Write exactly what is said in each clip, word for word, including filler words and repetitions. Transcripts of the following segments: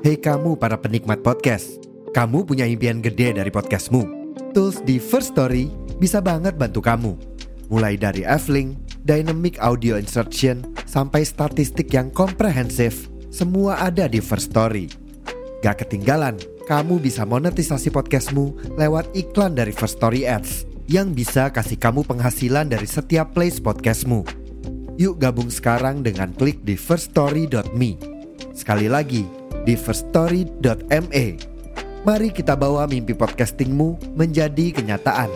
Hei kamu para penikmat podcast, kamu punya impian gede dari podcastmu. Tools di First Story bisa banget bantu kamu. Mulai dari F-Link, Dynamic Audio Insertion, sampai statistik yang komprehensif, semua ada di First Story. Gak ketinggalan, kamu bisa monetisasi podcastmu lewat iklan dari First Story Ads yang bisa kasih kamu penghasilan dari setiap plays podcastmu. Yuk gabung sekarang dengan klik di first story dot me. Sekali lagi, di first story dot me. Mari kita bawa mimpi podcastingmu menjadi kenyataan.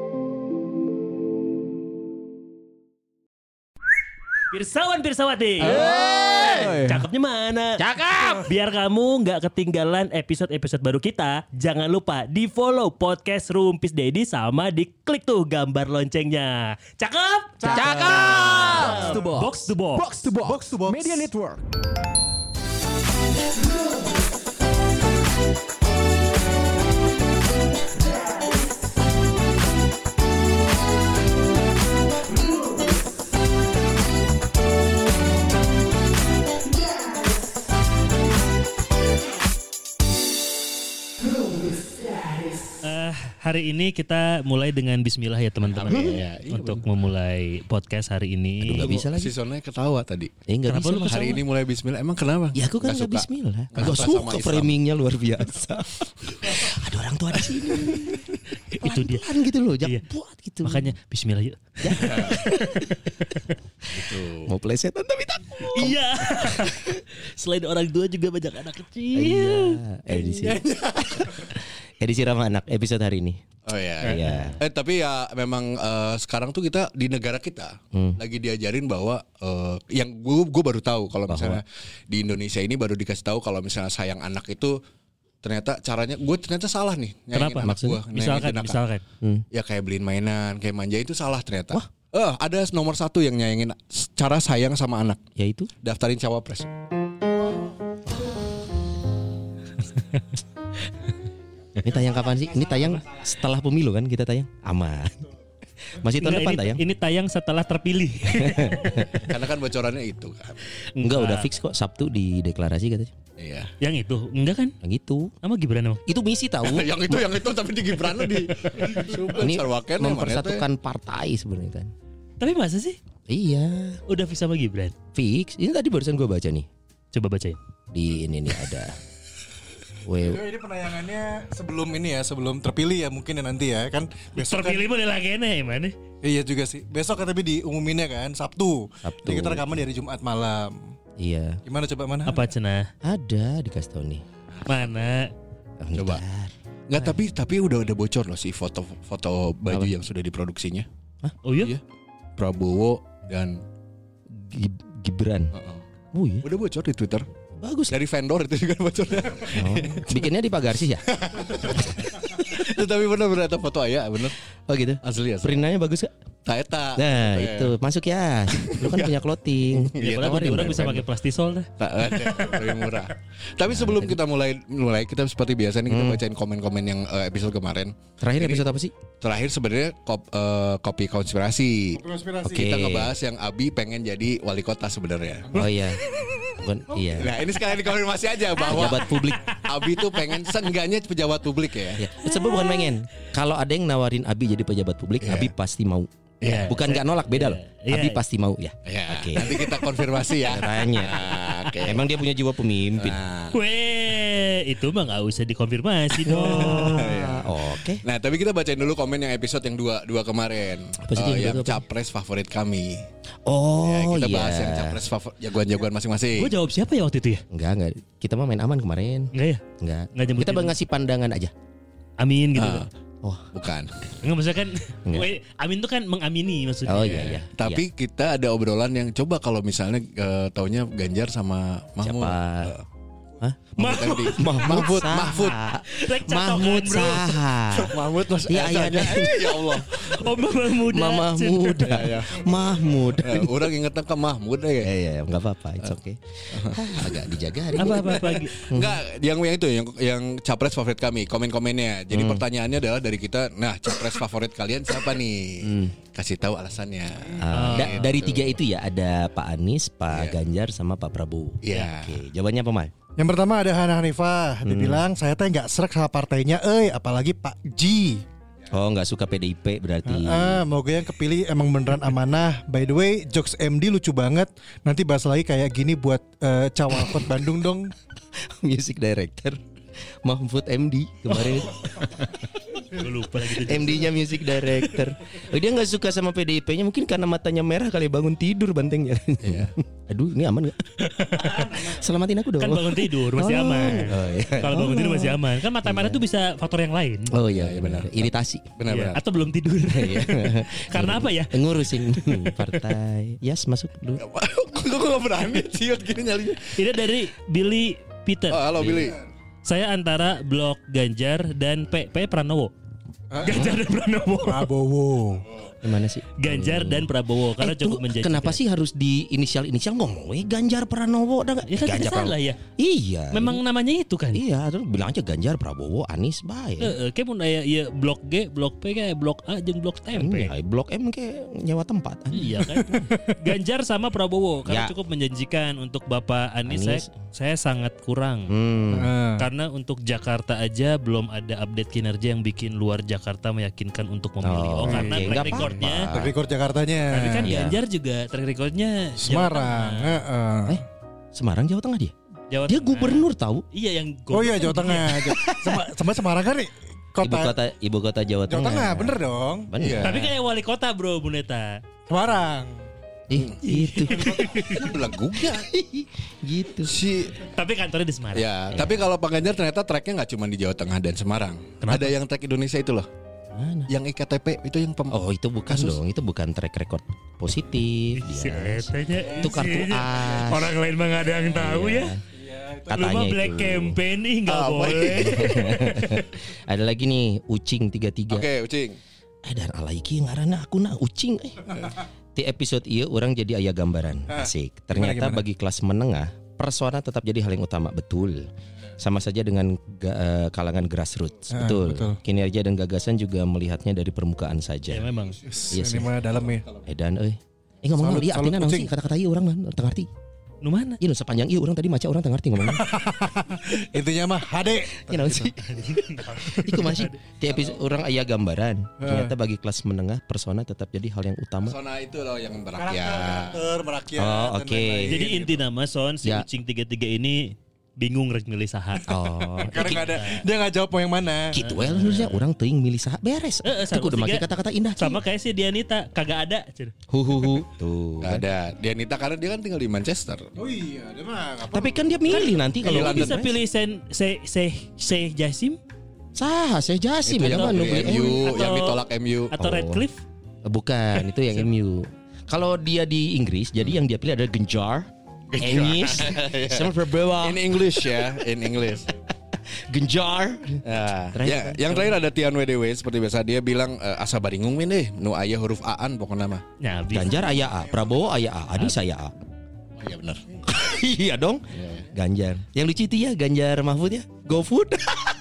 Pirsawan Pirsawati, Hey. cakepnya mana? Cakep. Biar kamu nggak ketinggalan episode-episode baru kita, jangan lupa di follow podcast Rumpis Dedi sama di klik tuh gambar loncengnya. Cakep? Cakep. Box to box. Box to box. Box to box. Box to box. Media Network. Eh, hari ini kita mulai dengan bismillah ya teman-teman Iya, iya, untuk memulai podcast hari ini. Aduh, gak bisa lagi. Si Sonnya ketawa tadi. Eh enggak Kenapa bisa. lu Mas. Hari ini mulai bismillah. Emang kenapa? Ya aku kan Nggak enggak suka. bismillah. Nggak Enggak suka sama suka Islam. framingnya luar biasa. Ada orang tua di sini. Itu dia. Pelan gitu loh, jangan Iya. buat gitu. Makanya bismillah yuk. Gitu. Mau plesetan tapi takut. Iya. Selain orang tua juga banyak anak kecil. Iya. Edisi. Edisi ramah anak episode hari ini. Oh ya. Iya. Eh tapi ya memang eh, sekarang tuh kita di negara kita Hmm. lagi diajarin bahwa eh, yang gue gue baru tahu kalau misalnya di Indonesia ini baru dikasih tahu kalau misalnya sayang anak itu ternyata caranya gue ternyata salah nih nyayangin Kenapa? anak gue. Misalkan, misalkan. Hmm. Ya kayak beliin mainan, kayak manja itu salah ternyata. Eh ada nomor satu yang nyayangin cara sayang sama anak. Yaitu Daftarin cawapres. ini tayang kapan sih? Ini tayang setelah pemilu kan kita tayang? Aman. Masih tahun Enggak, depan ini, tayang? ini tayang setelah terpilih. Karena kan bocorannya itu kan. Enggak, udah fix kok Sabtu di deklarasi katanya. Iya. Yang itu enggak kan? Yang itu. Nama Gibran emang. Itu misi tahu. yang itu yang itu tapi di Gibran di Ini mempersatukan partai sebenarnya kan. Tapi masa sih? Iya, Udah fix sama Gibran? fix. Ini tadi barusan gue baca nih. Coba bacain. Di ini nih ada. Weh, Ini penayangannya sebelum ini ya, sebelum terpilih ya mungkin ya nanti ya kan. Besok kan, Terpilih boleh lagi nih mana? iya juga sih. Besok kan tapi diumuminnya kan Sabtu. Sabtu. Jadi kita rekaman dari Jumat malam. iya. Gimana coba mana? Apa cenah? Ada dikasih tahu nih. Mana? Oh, Coba. ntar. Nggak, tapi tapi udah udah bocor loh sih foto-foto baju Apa? yang sudah diproduksinya. Oh iya? Iya. Prabowo dan Gib- Gibran. uh-uh. Oh iya. Udah bocor di Twitter. Bagus. Dari vendor itu juga bocornya. Oh. Bikinnya di pagar sih ya? Tapi bener bener ada foto ayah bener. Oh gitu. Asli asli. Perintannya bagus gak? Taeta. Nah itu masuk ya. Lu kan punya clothing. Iya, Ya, tawarin, orang bisa vendor. pakai plastisol dah. Tak ada, lebih murah. Tapi sebelum kita mulai mulai kita seperti biasa nih kita bacain komen-komen yang eh, episode kemarin. Terakhir Ini- episode apa sih? Terakhir sebenarnya kop, eh, kopi konspirasi. Konspirasi. Oke. Kita ngebahas yang Abi pengen jadi wali kota sebenarnya. Oh iya. Bukan iya. Nah ini sekalian dikonfirmasi aja bahwa Pejabat publik. Abi tuh pengen seenggaknya pejabat publik ya. Ya. Sebab bukan pengen. Kalau ada yang nawarin Abi jadi pejabat publik, Iya. Abi pasti mau. Iya. Bukan nggak nolak, beda loh. Iya. Abi pasti mau ya. Ya, Oke. nanti kita konfirmasi ya. Caranya. Nah, Oke. Emang dia punya jiwa pemimpin. Nah, Weh, itu mah nggak usah dikonfirmasi dong. Ah, Oke. nah, tapi kita bacain dulu komen yang episode yang dua dua kemarin. Apa sih, Eh, yang yang dua tuh apa? capres favorit kami. Oh Ya, kita iya. bahas yang capres favorit jagoan-jagoan masing-masing. Gue jawab siapa ya waktu itu ya? Enggak, enggak. Kita mah main aman kemarin. Enggak ya? Enggak. Nggak nyebutin. Kita baru ngasih pandangan aja. Amin gitu. Ah, Oh. bukan. Enggak maksudnya kan Enggak. weh, amin itu kan mengamini maksudnya. Oh iya iya. Tapi kita ada obrolan yang coba kalau misalnya eh, taunya Ganjar sama Mahmud. Siapa? Eh, Hah? Mahmud M D. Mahmud Mahmud, Mahmud. Rek catokan, Mahmud bro. Saha. Mahmud Mas. Iya, iya, Eh, eh, ya Allah. Oh mama muda. Mama muda. Ya, ya. Mahmud. Eh, orang ingetnya ke Mahmud ya. Eh iya, enggak apa-apa, it's okay. Hah, agak dijaga hari ini. Apa apa lagi? Enggak, yang yang itu yang yang capres favorit kami, komen-komennya. Jadi pertanyaannya adalah dari kita, nah capres favorit kalian siapa nih? kasih tahu alasannya. Ah, da- Gitu. dari tiga itu ya ada Pak Anies, Pak Iya. Ganjar sama Pak Prabowo. Iya. Oke, jawabannya apa, Mal? Yang pertama ada Hana Hanifah. Dia bilang saya teh nggak serak sama partainya, eh apalagi Pak G. Oh, nggak suka P D I P berarti. Ah, moga yang kepilih emang beneran amanah. By the way, jokes M D lucu banget. Nanti bahas lagi kayak gini buat uh, Cawalkot Bandung dong. Music director Mahfud M D kemarin. Gue lupa lagi. M D-nya music director. Oh, dia nggak suka sama P D I P-nya mungkin karena matanya merah kali bangun tidur bantengnya. Iya. Aduh, ini aman nggak? Selamatin aku dong. Kan bangun tidur masih Oh. aman. Oh, iya. Kalau bangun tidur masih aman. Kan mata merah tuh bisa faktor yang lain. Oh iya, benar. Iritasi. Iya, Benar-benar. atau belum tidur. Iya. Karena apa ya? Ngurusin partai. Yes, masuk dulu. Gue gak berani sih gini nyalinya. Ini dari Billy Peter. Oh, halo Billy. Saya antara blok Ganjar dan P P Pranowo. Ganjar dan Pranowo. Prabowo. Gimana sih? Ganjar dan Prabowo karena Eh, cukup tunggu, menjanjikan. kenapa sih harus di inisial-inisial ngomong we Ganjar Pranowo dah nggak? Ya kan Ganjar tidak salah ya. Iya. Memang namanya itu kan. Iya, terus bilang aja Ganjar Prabowo Anies baik. Heeh, kayak mun aya ieu blok G, blok P kayak blok A jeung blok M P. Iya, Blok M kayak nyewa tempat. Iya kan. Ganjar sama Prabowo karena Ya. cukup menjanjikan. Untuk Bapak Anies, Anies. saya saya sangat kurang. Hmm. Ah. Karena untuk Jakarta aja belum ada update kinerja yang bikin luar Jakarta meyakinkan untuk memilih. Oh, Oh, karena oke, track nggak recordnya. apa-apa. Track record Jakartanya. Tapi kan Iya. Ganjar juga track recordnya Jawa Semarang. Tengah. Heeh. Eh, Semarang Jawa Tengah dia. Jawa Dia Tengah. gubernur tahu. Iya yang Oh iya goblok Jawa kan Tengah. Sama, sama Semarang kan nih Ibu kota, kota ibu kota Jawa Jawa Tengah. Tengah, bener dong. Bener. Iya. Tapi kayak wali kota bro Buneta. Semarang. Eh, itu. Belagunya. gitu. Si Tapi kantornya di Semarang. Ya, tapi kalau Pak Ganjar ternyata tracknya nggak cuma di Jawa Tengah dan Semarang. Ada yang track Indonesia itu loh. Mana? Yang I K T P itu yang pem Oh, itu bukan Kasus. dong. Itu bukan track record positif. Si Dia. etanya Itu kartu isinya. as. Orang lain mah gak ada yang tahu Iya. ya. Lu Katanya mah black itu. campaign nih gak Ah, boleh. Ada lagi nih Ucing tiga tiga. Oke, Ucing. Eh dan alaiki ngaranna aku na Ucing eh. Di episode iya orang jadi ayah gambaran. Asik. Ternyata gimana? bagi kelas menengah persona tetap jadi hal yang utama. Betul. Sama saja dengan ga- eh, kalangan grassroots. Ah, betul. betul. Kinerja dan gagasan juga melihatnya dari permukaan Ya saja. memang. Iya Ini sih. mah dalam ya. Eh dan eh Eh ngomong Salut, dia salut, artinya naon Ucing. sih kata-kata iya orang teu ngarti. Nu mana? Iya nu sepanjang iya orang tadi maca orang teu ngarti ngomongnya. Intinya mah H D. Ya naon sih? Iku masih di episode orang ayah gambaran. Ternyata bagi kelas menengah persona tetap jadi hal yang utama. Persona itu loh yang berakyat. Karakter, merakyat. Oh, dan oke. lain-lain. Jadi inti nama Son si Ya. Ucing tiga tiga ini bingung rek milih saha. Oh, Karena nggak ada, dia nggak jawab mau yang mana. gitu well harusnya orang teuing milih saha beres. Eh, eh, Itu kudu sama make tiga. kata-kata indah. Sama kayak si Dianita kagak ada. Cer. hu hu hu. Tuh. Gak ada. Dianita karena dia kan tinggal di Manchester. Oh iya, dia mah nggak Tapi kan dia milih nanti kalau Iya, Lu bisa London. pilih Sen Se Se Se Jasim Sah, saya Jasim Itu ya yang kan pilih M U, Atau- yang ditolak M U. atau Oh. Redcliffe? Bukan, itu yang M U. Kalau dia di Inggris, jadi yang dia pilih adalah Genjar, Anies, sama Prabowo. In English ya, in English. Genjar. Ya, Terakhir ya, yang terakhir ada Tian W D W seperti biasa dia bilang e, asa baringung min deh, nu aya huruf A-an pokoknya mah. Ya, bisa. Ganjar aya A, Prabowo aya A, Anies aya A. Oh, iya benar. Iya dong. Ganjar. Yang lucu itu ya Ganjar Mahfud ya. GoFood.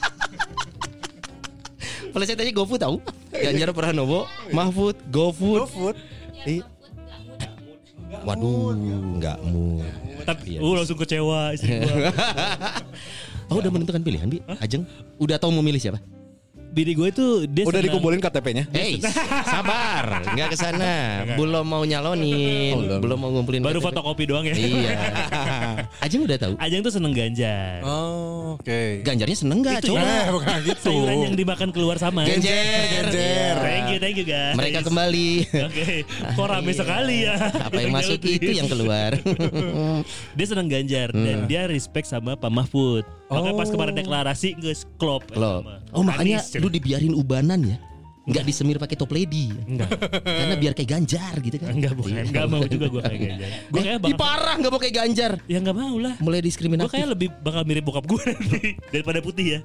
Kalau saya tanya GoFood tahu? Ganjar Pranowo, Mahfud, GoFood. GoFood. Iya. Waduh, enggak mu. Tapi Iya. uh, langsung kecewa istri gua. Oh, udah menentukan pilihan, Bi? Ajeng. Udah tahu mau milih siapa? Bini gue itu dia Udah senang- dikumpulin K T P-nya? Hey, sabar, nggak kesana. Belum mau nyalonin, Oh, belum. belum mau ngumpulin. baru K T P. fotokopi doang ya. Iya. Ajeng udah tahu. Ajeng tuh seneng Ganjar. Oh, oke. Ganjarnya seneng nggak? Itu Coba. ya. Eh, bukan gitu. Sayuran yang dimakan keluar sama. Ganjar. Ganjar. Thank you, thank you guys. Mereka kembali. Oke, kok rame sekali ya. Apa yang masuk itu yang keluar. Dia seneng Ganjar dan dia respect sama Pak Mahfud. Makanya pas kemarin deklarasi nggak klop. Loh. Oh makanya lu dibiarin ubanan ya? Nggak disemir pakai top lady. Enggak. Karena biar kayak Ganjar gitu kan. Enggak bukan. Enggak mau juga gue kayak Ganjar. Gue kayak Ih bakal parah nggak mau kayak Ganjar. ya enggak mau lah. Mulai Gue diskriminatif. kayak lebih bakal mirip bokap gue nanti daripada putih ya.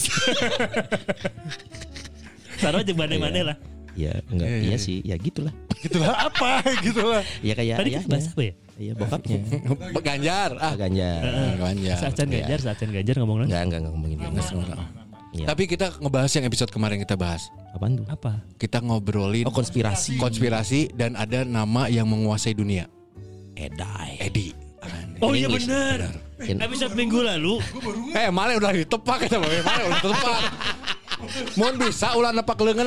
Taruh aja mana-mana lah. Ya enggak, Iya, iya iya. sih, ya gitulah. Gitulah apa? Gitulah. Ya kayak Tadi ya, kita bahas apa ya? Iya bokapnya. Ganjar. Ah, Ganjar. Ganjar. Saacan Ganjar, Saacan Ganjar ngomong lagi. Enggak, enggak, enggak ngomongin Nggak Ganjar. semua. Iya. Tapi kita ngebahas yang episode kemarin kita bahas. Apaan tuh? Apa? Kita ngobrolin Oh, konspirasi. konspirasi dan ada nama yang menguasai dunia. Edai. Edi. Oh iya English. benar. Episode minggu lalu. Eh, mana udah ditepak kita, mana udah ditepak. Mohon bisa ulah nepak leungeun.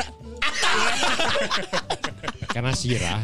Karena sirah.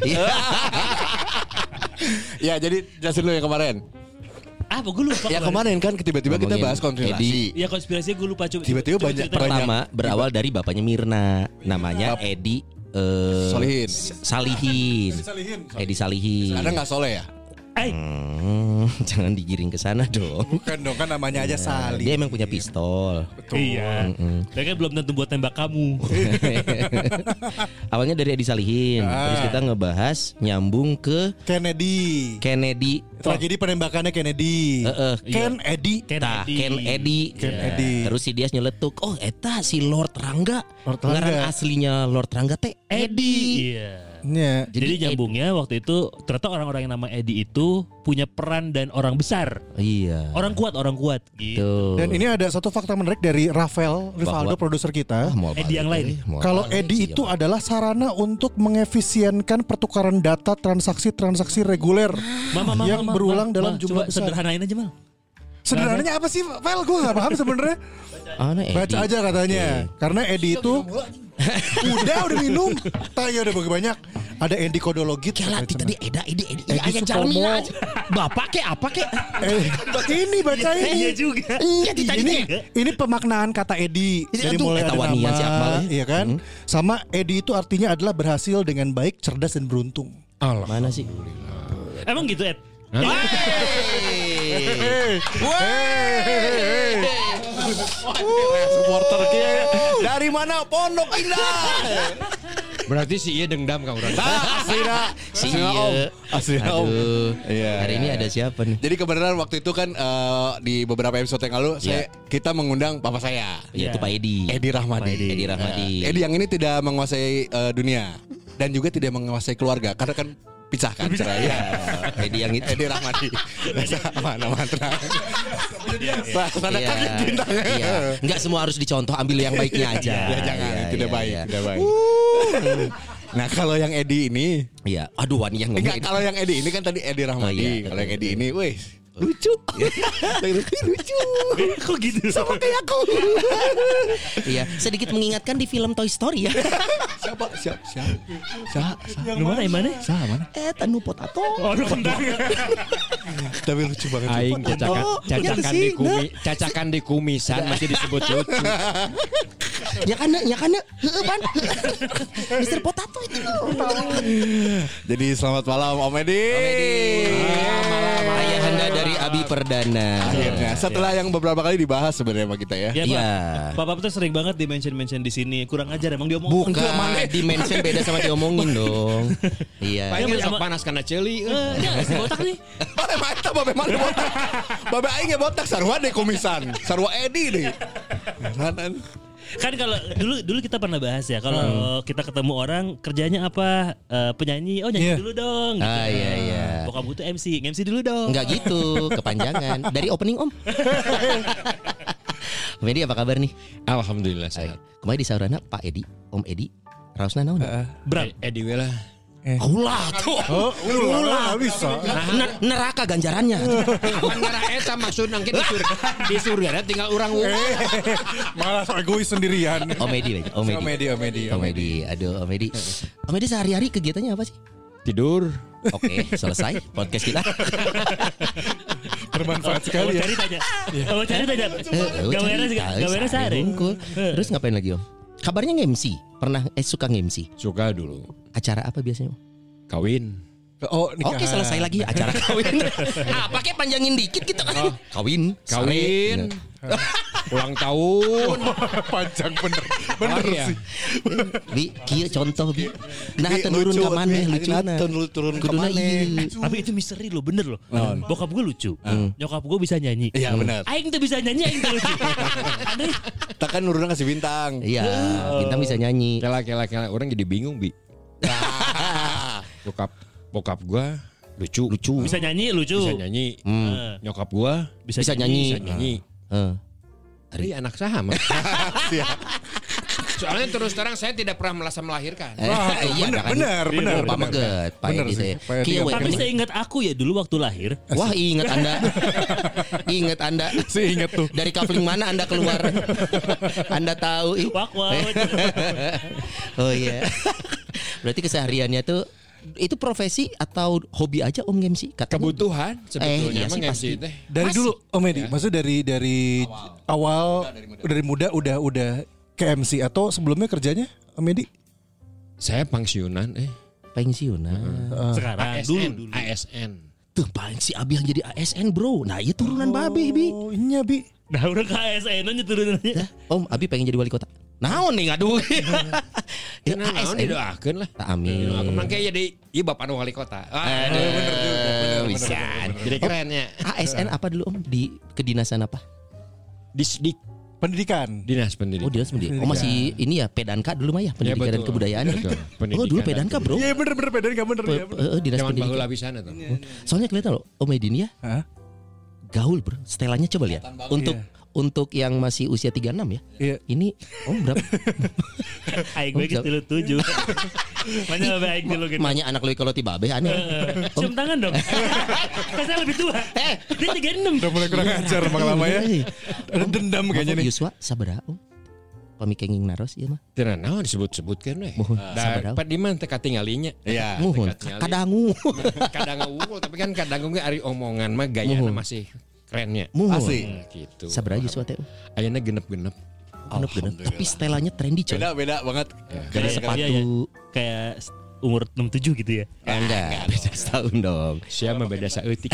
Ya, jadi jelasin dulu yang kemarin. Ah, apa gue lupa. Ya kemarin kan tiba-tiba kita Ngomongin bahas konspirasi. Ya konspirasi gue lupa coba. Tiba-tiba coba banyak ceritain. banyak. Pertama berawal dari bapaknya Mirna, namanya Bap- Edi eh, Solihin. Salihin. Edi Salihin. Ada nggak soleh ya? Eh, Hmm, jangan digiring ke sana dong. Bukan dong, kan namanya aja Sali. Dia emang punya pistol. iya. Mereka belum tentu buat tembak kamu. Awalnya dari Edi Salihin, terus kita ngebahas nyambung ke Kennedy. Kennedy. Tragedi penembakannya Kennedy. Heeh. Ken Edi. Ken Tah, Edi. Ken Edi. Ken Ya. Edi. Terus si Dias nyeletuk, oh eta si Lord Rangga. Lord Rangga. Ngaran aslinya Lord Rangga teh Edi. Iya. Ya. Jadi, nyambungnya waktu itu ternyata orang-orang yang nama Edi itu punya peran dan orang besar. Iya. Orang kuat, orang kuat gitu. Tuh. Dan ini ada satu fakta menarik dari Rafael Rivaldo, Bahwa- produser kita. Ah, mual Edi yang balik, lain. eh. Mual Kalau balik Edi sih, itu ya. adalah sarana untuk mengefisienkan pertukaran data transaksi-transaksi reguler Mama, mama, yang mama, berulang mama, dalam mama, jumlah coba besar. sederhanain aja mal. Sederhananya apa sih, Vel? Gue gak paham sebenarnya. Ah, nah, Edi. Baca aja katanya. Karena Edi itu udah udah minum. Tanya udah bagi banyak. Ada Edi Kodologit. Kela tadi Eda Edi Edi Edi Edi Sutomo. aja. Bapak ke apa ke? Eh, ini baca Iya ini. juga. Iya ditanya Ini deh. ini pemaknaan kata Edi. Ini Dari tuh mulai eta ada wanian si Akmal, nama, ya. iya kan? Sama Edi itu artinya adalah berhasil dengan baik, cerdas dan beruntung. Mana sih? Emang gitu Ed? Supporter kia dari mana Pondok Indah. Berarti si iya dendam kang urang. Ah, aslinya, Si aslinya Om, iya. aslinya Om. Aduh. Iya. Hari ini ada siapa nih? Jadi kebenaran waktu itu kan eh, di beberapa episode yang lalu saya Iya. kita mengundang papa saya. Ya, itu Pak Edi. Edi Rahmadi. Edi Rahmadi. Eh, Edi yang ini tidak menguasai eh, dunia dan juga tidak menguasai keluarga karena kan pisah kan cerai. Ya. Edi yang itu. Edi Rahmadi. Mana mantra. Sana Iya. kaget bintangnya. Iya. Enggak semua harus dicontoh, ambil yang baiknya aja. Ya jangan, Iya, tidak iya, baik, iya. tidak baik. Nah kalau yang Edi ini, Iya. Aduh, Wan yang ngomong enggak Edi. kalau yang Edi ini kan tadi Edi Rahmadi. Oh, iya. Kalau yang Edi ini, weh lucu, lucu. Kok gitu? Sama kayak aku. Iya, sedikit mengingatkan di film Toy Story ya. Siapa? Siapa? Siapa? Siapa? Yang mana? Yang mana? Siapa? Mana? Eh, tanu potato. Oh, aduh kentang. Tapi lucu banget. Aing cacakan Oh, cacakan iya di sih, kumi, cacakan di kumisan masih disebut lucu. Ya kan, ya kan, heeh pan. Mister Potato itu. Jadi selamat malam Om Edi. Om Edi. malam. Ayahanda dari Abi Perdana. Akhirnya setelah yang beberapa kali dibahas sebenarnya sama kita ya. Ya, Iya. Pak. Papa tuh sering banget di mention-mention di sini. Kurang ajar emang dia omong. Bukan, dimension beda sama diomongin dong. Iya. Pengen Iya, sok sama- panas karena celi. Eh, dia nggak sih botak nih. Babe mata babe mana botak. Babe aing ge botak sarua deh komisan. Sarua Edi deh. Nanan. Kan kalau dulu dulu kita pernah bahas ya kalau kita ketemu orang kerjanya apa. Eh, penyanyi, oh nyanyi Iya. dulu dong gitu. Ah, iya, iya. Bokap gue tuh M C, M C dulu dong. Enggak gitu, kepanjangan. Dari opening Om. Om Edi apa kabar nih? Alhamdulillah sehat. Kemarin di saurana Pak Edi, Om Edi, raosna naon? Bram. Edi we lah. Ulah tuh. Oh, ulah, nggak bisa. Ner- neraka ganjarannya. Awan ngara eta maksud nangke di surga. Di surga tinggal urang wungkul. Malah so egois sendirian. Om Edi, Om Edi. Om Edi, Om Edi, Om Edi. Aduh, Om Edi. Om Edi sehari-hari kegiatannya apa sih? Tidur. Oke, selesai podcast kita. Bermanfaat Oh, sekali ya. cari tanya. Oh, cari tanya. Gaweannya gaweannya sehari. Bungkul. Terus ngapain lagi Om? Kabarnya nge-M C. Pernah eh suka nge-M C. Suka dulu. Acara apa biasanya Om? Kawin. Oh, nikahan. Oke, selesai lagi acara kawin. Ah, pakai panjangin dikit gitu kan. Kawin, Kawin. sare. Ulang tahun. Panjang bener. Bener Oh, iya. sih. Bi, kieu contoh bi. Nah, Bi, turun lucu, ka maneh Bi. lucuna. Nah, turun- turun ka Kuduna maneh. ieu. Tapi itu misteri loh, bener loh. Bokap gue lucu, nyokap gue bisa nyanyi. Iya benar. Aing tuh bisa nyanyi, Aing tuh lucu. Aneh. Takkan nuruna kasih bintang. Iya, bintang bisa nyanyi. Kela kela kela orang jadi bingung bi. Bokap bokap gua lucu. Lucu. Bisa nyanyi, lucu. Bisa nyanyi. Hmm. Eh, Nyokap gua bisa, Bisa nyanyi. bisa nyanyi. Eh. Ari anak saham. Soalnya terus terang saya tidak pernah merasa melahirkan. Eh, iya, bener, kan? bener, bener, Pak bener. Meget, Pak Bener Edi sih, saya. Pak Edi. Kieu we, Tapi mending- saya ingat aku ya dulu waktu lahir. Wah, ingat Anda. Ingat Anda. Si inget tuh. Dari kafling mana Anda keluar? Anda tahu. ih. Wak wak. Oh iya. Berarti kesehariannya tuh itu profesi atau hobi aja Om M C? Katanya. Kebutuhan sebetulnya iya emang sih, M C pasti. teh. Dari dulu Om Edi, maksudnya dari dari awal, dari muda udah udah ke M C atau sebelumnya kerjanya Om Edi? Saya pensiunan eh Pensiunan. Sekarang dulu ASN, dulu. ASN. Tuh paling si Abi yang jadi A S N bro. Nah iya turunan Babe Bi. Oh iya Bi. Nah udah ke A S N-nya turunannya. Dah, Om Abi pengen jadi wali kota. Naon nih ngaduh. Ya, Nah, naon A S N. didoakeun lah. Amin. Aku mangke jadi ieu bapak wali kota. Ah, Aduh, bener juga. Bisa. jadi kerennya. A S N apa dulu Om? Di kedinasan apa? Di, di Pendidikan. dinas Oh pendidikan. dinas pendidikan. Oh masih ini ya Pedanka dulu mah ya pendidikan dan betul. kebudayaan. Betul. Oh Pendidikan dulu dan Pedanka bro. Iya bener bener beda nggak bener Pe- ya. pe- eh, dinas Zaman pendidikan. baheula pisan eta. Soalnya kelihatan loh Om Edin ya Hah? gaul bro. Setelannya coba lihat. Untuk untuk yang masih usia tiga puluh enam ya. Iya. Ini Om berapa? Aing gue gitu lu tujuh. Mana lebih aing dulu gitu. Manya anak lu kalau tiba be aneh. Cium tangan dong. Kan saya lebih tua. Eh, Dia tiga puluh enam. Udah mulai kurang ajar emang lama ya. Ada dendam kayaknya nih. Yuswa sabaraha Om? Pamikenging naros ieu mah. Teu naon disebut-sebutkeun we. Mohon, Da sabaraha. pat di mana teh katinggalinya. Iya. Muhun Dekat nyali. kadangu. Kadang unggul tapi kan kadang ge ari omongan mah gayana Muhun. masih kerennya. Muhun. Asli. Gitu. Sabaraha Yuswa teh? Ayeuna genep-genep. Genep-genep. Tapi setelannya trendy coy. Beda beda banget. Kayak Iya, sepatu. iya, iya. Kayak umur enam puluh tujuh gitu ya. Enggak, beda setahun dong. Sia mah beda saeutik.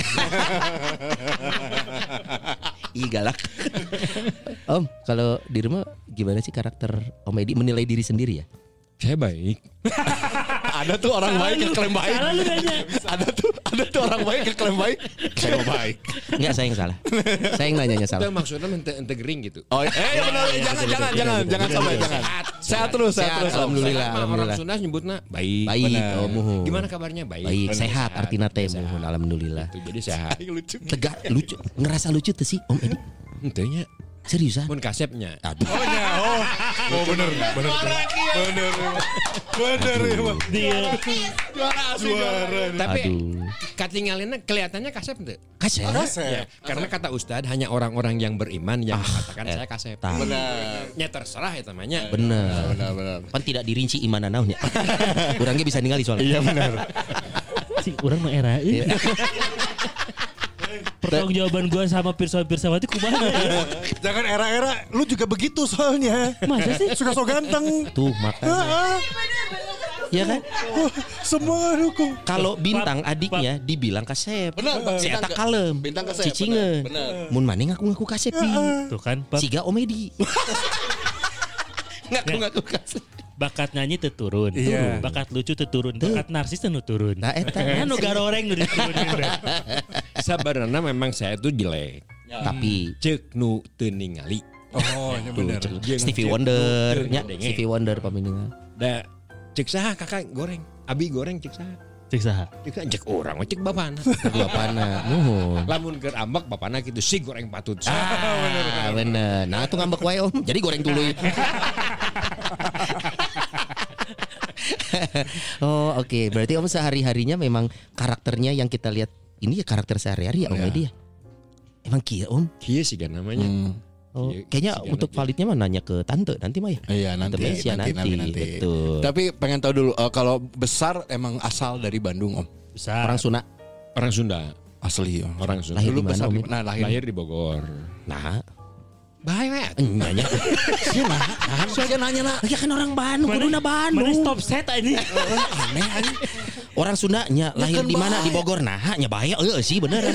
Ih galak. Om, kalau di rumah gimana sih karakter Om Edi menilai diri sendiri ya? Saya baik. Ada tuh orang baik yang klaim baik. Salah lu nanya. Ada tuh ada tuh orang baik yang klaim baik. Saya mah baik. Enggak, saya yang salah. Saya yang nanyanya Itu salah. maksudnya ente ente gering gitu. Oh, eh ya benar, jangan jangan jangan jangan sampai jangan. Sehat terus, sehat Sehat, terus. Om. alhamdulillah. Mah orang Sunda nyebutna baik. Baik, benar. oh muhun. Gimana kabarnya? Baik. Baik, Benar, sehat artinya teh Sehat. muhun alhamdulillah. Itu jadi sehat. Lucu. Tegak lucu, ngerasa lucu tuh sih Om Edi. Henteu nya. Seriusan? Mun kasepnya. Aduh. Oh ya, oh. Oh bener, bener. Bener. Bener ya, Bang. Dia Juara. Tapi Aduh. katingalina kelihatannya kasep henteu? Kasep. Ya, karena kata Ustadz hanya orang-orang yang beriman yang mengatakan saya kasep. Tah. Benar. Ya terserah ya namanya. Bener. Benar benar. Pan tidak dirinci iman naonnya. Kurangnya bisa ningali soalnya. Iya benar. si orang mah era. Pertanggung jawaban gua sama Pirsawan Pirsawati kumaha ya? Jangan era-era lu juga begitu soalnya. Masa sih? Suka so ganteng. Tuh makanya. Ah, Ya kan? ah. Semua dukung. Kalau bintang adiknya dibilang kasep. Benar, Si bintang eta ke- kalem. bintang kasep, Cicingeun. benar, Mun maneh ngaku-ngaku kasep pi. Tuh kan, Pap. Siga Omedi. Ngaku-ngaku kasep. Bakat nyanyi teu turun. Iya. Bakat lucu teu turun. Bakat narsis teu nu turun. Nah eta. Anu garoreng nu diturunin. Bre. Sebenarnya memang saya itu jelek. Tapi Cek nu teu ningali. Oh, ya benar. Jeung Stevie cek Wonder, nu teu nya ngadenge. Stevie Wonder paminingan. Da cek saha kakak goreng. Abi goreng cek saha. Cek saha? Cek saha, cek orang cek bapana. Bapana, nuhun. Lamun keur ambek bapana kitu si goreng patut. Ah, bener. Nah, itu ngambek wae Om. Jadi goreng dulu. Oh, oke. Berarti Om sehari-harinya memang karakternya yang kita lihat ini ya karakter sehari-hari ya Om Edi ya. Emang kieu Om. Kieu sih kan namanya. Oh, Iya, kayaknya siga untuk nanti. validnya mah nanya ke tante nanti mah ya. Iya nanti, Tante Mesia nanti, nanti, nanti. Betul. Tapi pengen tahu dulu eh, kalau besar emang asal dari Bandung Om. Besar. Orang Sunda Orang Sunda. Asli Om. Orang Sunda. lahir Dulu di mana besar Om? di nah, lahir. Lahir di Bogor. Nah, Bahaya. nanya. Nah, soalnya nanya lah. Ya kan orang Bandung, kuduna Bandung. Mana stop set ini? Aneh aneh. Orang Sundanya lahir kan di mana? bahaya. Di Bogor. Nah, nya bahaya eueuh sih bener.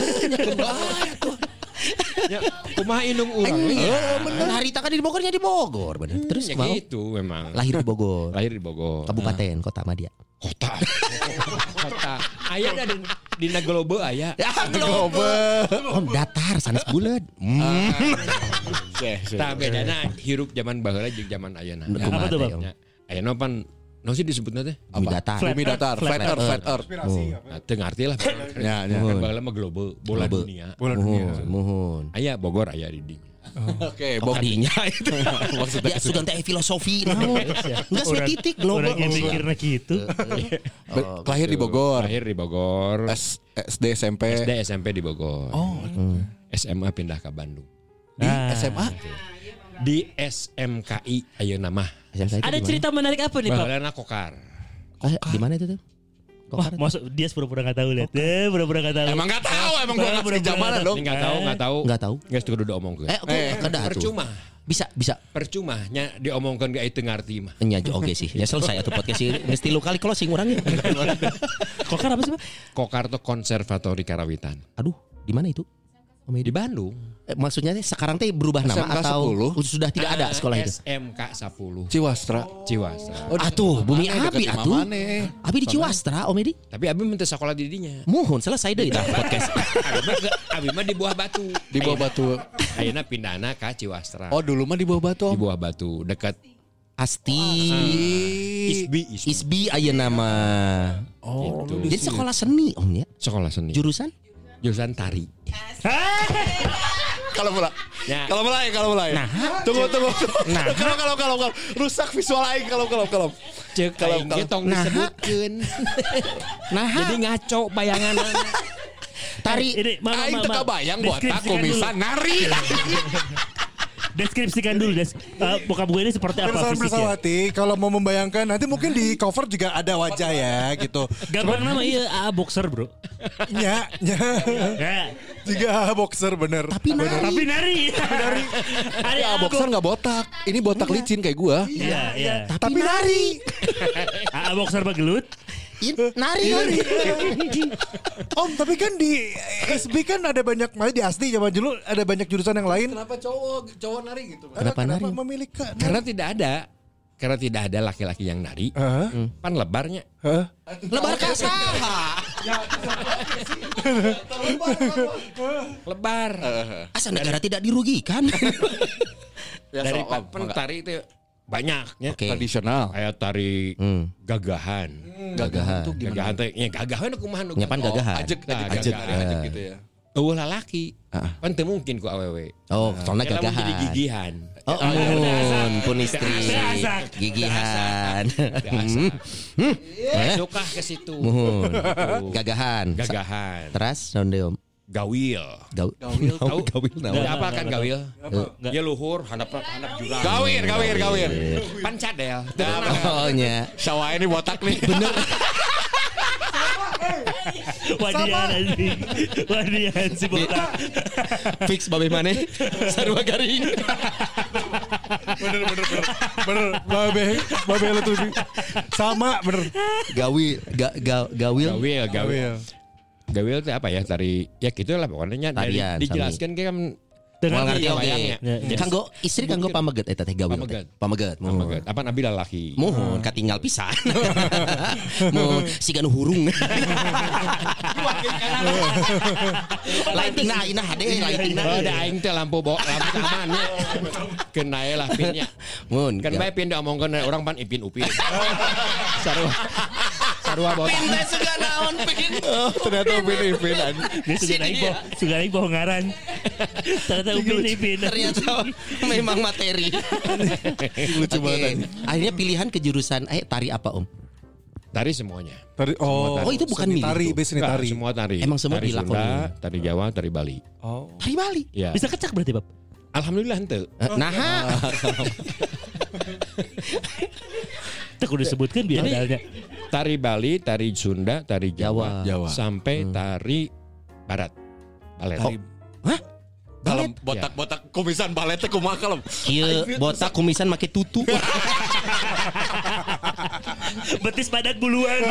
Ya, kumaha indung urang. Iya, bener. Harita kan di Bogornya di Bogor, bener. Terus Ya mau gitu memang. lahir di Bogor. Lahir di Bogor. Kabupaten, kota Madia. Kota. Kota. Aya da di, di Naglobe aya. Ya, Om datar sanes bulet. Hmm. Tah bedana hirup zaman baheula jeung zaman ayeuna. Kumaha Apa tuh, teh, Bang? Om? Ya, ayeuna pan Nah sih disebutnya teh Bumi datar. Bumi datar, flat earth, flat earth. Nah, teu ngarti lah. Ya, ya. Kan baheula mah global, bola Global. dunia. Muhun, muhun. Aya Bogor aya di dinya. Oke, Oh, Bogor. kadinya itu. Maksudnya Ya sugan teh filosofi naon. Enggak sih titik global. Orang yang mikirnya gitu. Be- lahir di Bogor. Lahir di Bogor. S- SD S M P. S D S M P di Bogor. Oh, S M A pindah ke Bandung. di S M A. Di S M K I ayeuna mah. Ada cerita menarik apa nih Pak? Baheulana Kokar. Eh, di mana itu tuh? Wah, masuk dia pura-pura nggak tahu lihat. Eh, pura-pura nggak tahu. Emang nggak tahu, emang gua nggak Pura-pura sejamanan nggak dong. Ini enggak tahu, enggak tahu. Enggak tahu. Geus kudu diomongkeun. Eh, oke, kada tuh. Percuma. Bisa, bisa. Percuma nya diomongkeun ge itu ngarti mah. Nya oke sih. Ya selesai atuh podcast ini. Mesti lu kali closing orangnya. Kokar apa sih Pak? Kokar tuh Konservatori Karawitan. Aduh, di mana itu? Om Edi? Di Bandung. Eh, maksudnya teh sekarang teh berubah nama S M K atau sepuluh? sudah tidak ada sekolah itu? S M K sepuluh Ciwastra. Ciwastra. Atuh, Bumi Mana Abi deket atuh. Mamane. Abi di Ciwastra, Om Edi. Tapi Abi minta sekolah di dinya. Muhun selesai deh kita podcast. Abi mah ge- Abi mah di Buah Batu. Di Buah Batu. Ayeuna pindahna ka Ciwastra. Oh, dulu mah di Buah Batu. Di Buah Batu dekat Asti. Isbi, Isbi. Isbi aya nama. Oh, Gitu. Jadi sekolah seni Om ya. Sekolah seni. Jurusan? Jurusan tari. Kalau mulai. Ya. Kalau mulai, kalau mulai. Nah. Tunggu, tunggu. Nah. Kalau kalau kalau kalau rusak visual aing kalau kalau kalau. Ceuk Kalau- aing kalau- ge tong Nah. disebutkeun. Nah, Jadi ngaco bayanganna. tari Ini mama Aing teu mama. kabayang buat Deskripsikan aku bisa dulu. nari. Deskripsikan dulu des. Uh, bokap gue ini seperti apa Pirsawan fisiknya? Pirsawati, kalau mau membayangkan nanti mungkin di cover juga ada wajah ya gitu. Gampang nama iya A A boxer bro. Nya, nya. Ya. Juga boxer bener. tapi nari. Tapi nari. Nari. Ada Ya, boxer nggak botak. Ini botak licin kayak gua. Iya iya. Tapi nari. A A boxer bagelut. In, nari. Om, tapi kan di S B kan ada banyak, malah di Asdi zaman dulu ada banyak jurusan yang lain. Kenapa cowok cowok nari gitu? Kenapa nari? memilih ke? Karena tidak ada karena tidak ada laki-laki yang nari. Hah? Pan lebarnya. Hah? Lebar kasaha. Lebar. Asal negara tidak dirugikan. Ya, Dari so, pan, Om, pan enggak. tari itu banyaknya. Oke. Tradisional. Kayak tari Hmm. gagahan. Gagahan. Tuh gimana? Gagahan teh ya gagahan aku mah Nyapan gagahan. Ajek, Nah, ajek, ajek, gagahan. ajek gitu ya. Eueuh lalaki. Ah. Pan teu mungkin ku awewe. Oh, soalnya Lamun gagahan. jadi gigihan. Oh, mun pun istri Asak. gigihan. Biasa. Hmm. Eh, Suka ke situ. muhun. Tuh. Gagahan. Gagahan. Teras naon deui Om? Gawil. Gawil. Tahu Gawil naon? Gawil apa kan gawil? Ya luhur, handap handap jurang. Gawir, gawir, gawir. Pan cadel. Oh nya. Sawah ini botak nih. Bener. Wadian anjing. Wadian si botak. Fix babe maneh sarua garing. Bener, bener, bener. Bener, babe, babe lu tuh. Sama, bener. Gawil, ga, ga, gawil. Gawil, gawil. Gawil. Gawil itu apa ya? Tari ya gitu lah pokoknya dari Tarian, dijelaskan kayak kan Dengan Mau ngerti iya, oke. wayangnya. Ya, ya. Kanggo istri kanggo pameget eta teh gawil. Pameget. teh. Pameget. Oh my God. Apa nabi lalaki? Muhun katinggal pisan. Muhun siga nu hurung. Lighting nah inah hade lighting nah. Oh, ada aing teh lampu bawa lampu tamannya. Kena lah pinnya. Mun. Kan bae pin diomongkeun orang pan ipin upin. Sarua. Sarua botak. Pindah suga naon pin. Oh, ternyata upin-upin. Dia suka naik boh, suka naik bohong ngaran. Ternyata upin ipin. Ternyata memang materi. Lucu Oke. banget. Akhirnya pilihan ke jurusan eh tari apa Om? Tari semuanya. Tari, oh, Oh, itu bukan seni milih tari, tuh. base seni Enggak, tari. semua tari. Emang semua tari dilakonin. Sunda, tari Jawa, tari Bali. Oh. Tari Bali. Ya. Bisa kecak berarti Bab. Alhamdulillah henteu. Eh, Nah, Itu kudu disebutkan biar Jadi- adanya. Tari Bali, tari Sunda, tari Jawa, Jawa. Jawa. sampai tari Barat. Balet. Tari hah? Kalem Balet? botak-botak kumisan baletnya kumaha kalem. Kieu botak kumisan make tutu. Betis padat buluan.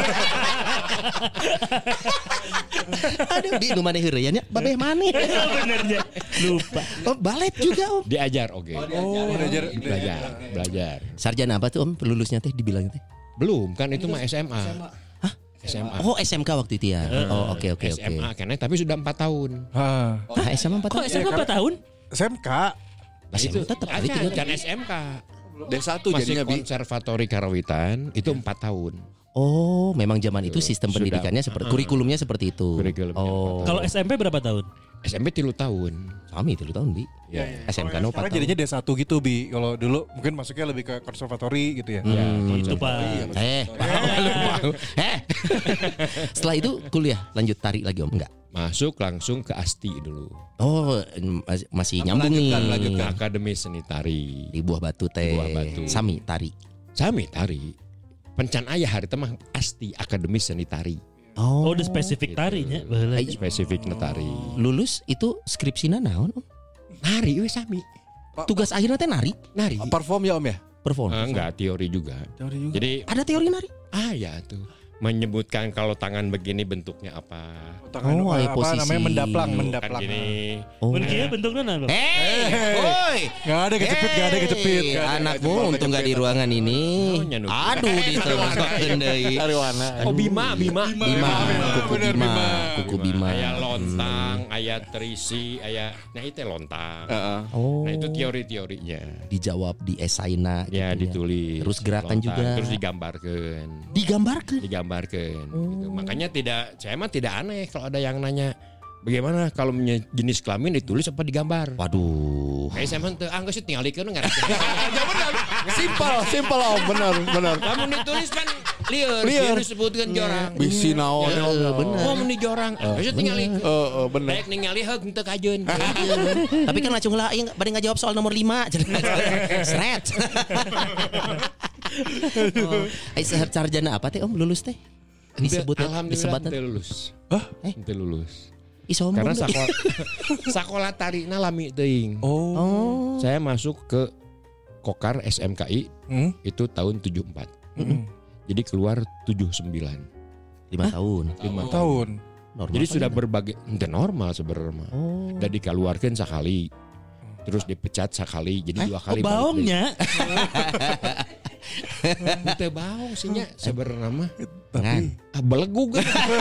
Aduh, di nu maneh heureuy nya babeh maneh. Benernya. Lupa. Oh, balet juga Om. Diajar oke. Oh, belajar. Belajar, belajar. Sarjana apa tuh Om? Lulusnya teh dibilang teh. Belum, kan itu mah S M A. Hah? S M A. Oh, S M K waktu itu ya. Oh, oke oke S oke. M A kene tapi sudah empat tahun. Ah, Ah, S M A empat Kok tahun. S M K empat tahun? S M K. S M A tetap Kan, itu kan S M K. D satu Masih jadinya Bi. konservatori Karawitan itu empat tahun. Oh, memang zaman itu sistem Sudah. pendidikannya seperti kurikulumnya seperti itu. Kurikulumnya Oh. Kalau S M P berapa tahun? S M P tilu tahun. Kami tiga tahun, Bi. Ya. S M K no empat Sekarang tahun. jadinya D satu gitu Bi. Kalau dulu mungkin masuknya lebih ke konservatori gitu ya. Ya, Itu Pak. Eh, eh. Setelah itu kuliah lanjut tari lagi Om? Enggak. Masuk langsung ke Asti dulu. Oh, mas- masih nyambung nih. Melanjutkan, melanjutkan. Akademi Seni Tari. Di Buah Batu teh. Buah Batu. Sami tari. Sami tari. Pencan ayah hari temah Asti Akademi Seni Tari. Oh, udah spesifik tarinya. Baheula. Spesifik netari. Lulus itu skripsina naon Om? Nari we sami. Tugas akhirnya teh nari, Nari. Perform ya Om ya? perform. Ah, enggak teori juga. Teori juga. Jadi Ada teori nari? ah ya tuh menyebutkan kalau tangan begini bentuknya apa. Tangan, Oh, apa posisi. namanya mendaplang, Kan mendaplang. gini. Oh. Mun kieu bentukna naon? Bang? Hei, woi. Gak ada kecepit, gak ada kecepit. Hei, Gak ada anakmu kecepit. untung gak di ruangan ini. Oh, nyanu. Aduh, ditebakkeun deui. Dari warna. Oh Bima, Bima. Bima, kuku bener, Bima, Bima. kuku Bima. Aya lontang, aya terisi, aya nah itu lontang. Heeh. Oh, Nah itu teori-teorinya. dijawab di esaina Ya gitu ditulis. Terus gerakan Lontang, juga. Terus digambarkan. Digambarkan. Digambarkan. Gitu. Makanya tidak, saya mah tidak aneh kalau ada yang nanya bagaimana kalau punya jenis kelamin ditulis apa digambar. Waduh. Kayak saya mah teu ah geus tinggal dikeun ngarep. Simpel, simpel Om, benar, benar. Lamun ditulis kan lieur, Lieur. lieur disebutkeun jorang. Bisi naon. Ya, bener. Oh mun di jorang, geus tinggal dikeun. Heeh, benar. Baik ningali heug teu kajeun. Tapi kan lacung lah, yang pada nggak jawab soal nomor lima. Seret. Oh, ai sahar sarjana apa teh Om lulus teh? Disebut Alhamdulillah disebut teu lulus. Hah? Eh? Teu lulus. Ih sombong. Karena deh. sekolah sekolah tarina lami teuing. Oh. Oh. Saya masuk ke Kokar S M K I Hmm? itu tahun tujuh puluh empat. Mm-mm. Jadi keluar tujuh puluh sembilan. lima tahun. lima tahun. Tahun. Normal Jadi apa sudah gimana? berbagai ente normal sebenarnya. Oh. Dan dikeluarkan sekali. Terus dipecat sekali, jadi dua Oh, kali. baongnya. Itu baong sih nya sebenarnya mah. Ngan. Ah belegug.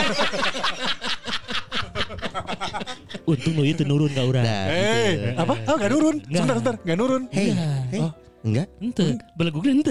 Untung lu itu nurun ka urang. Nah, Eh, gitu. apa? Oh, gak nurun. Sebentar, sebentar. Gak nurun. Hey, hey. Enggak? Ente, belegugna ente.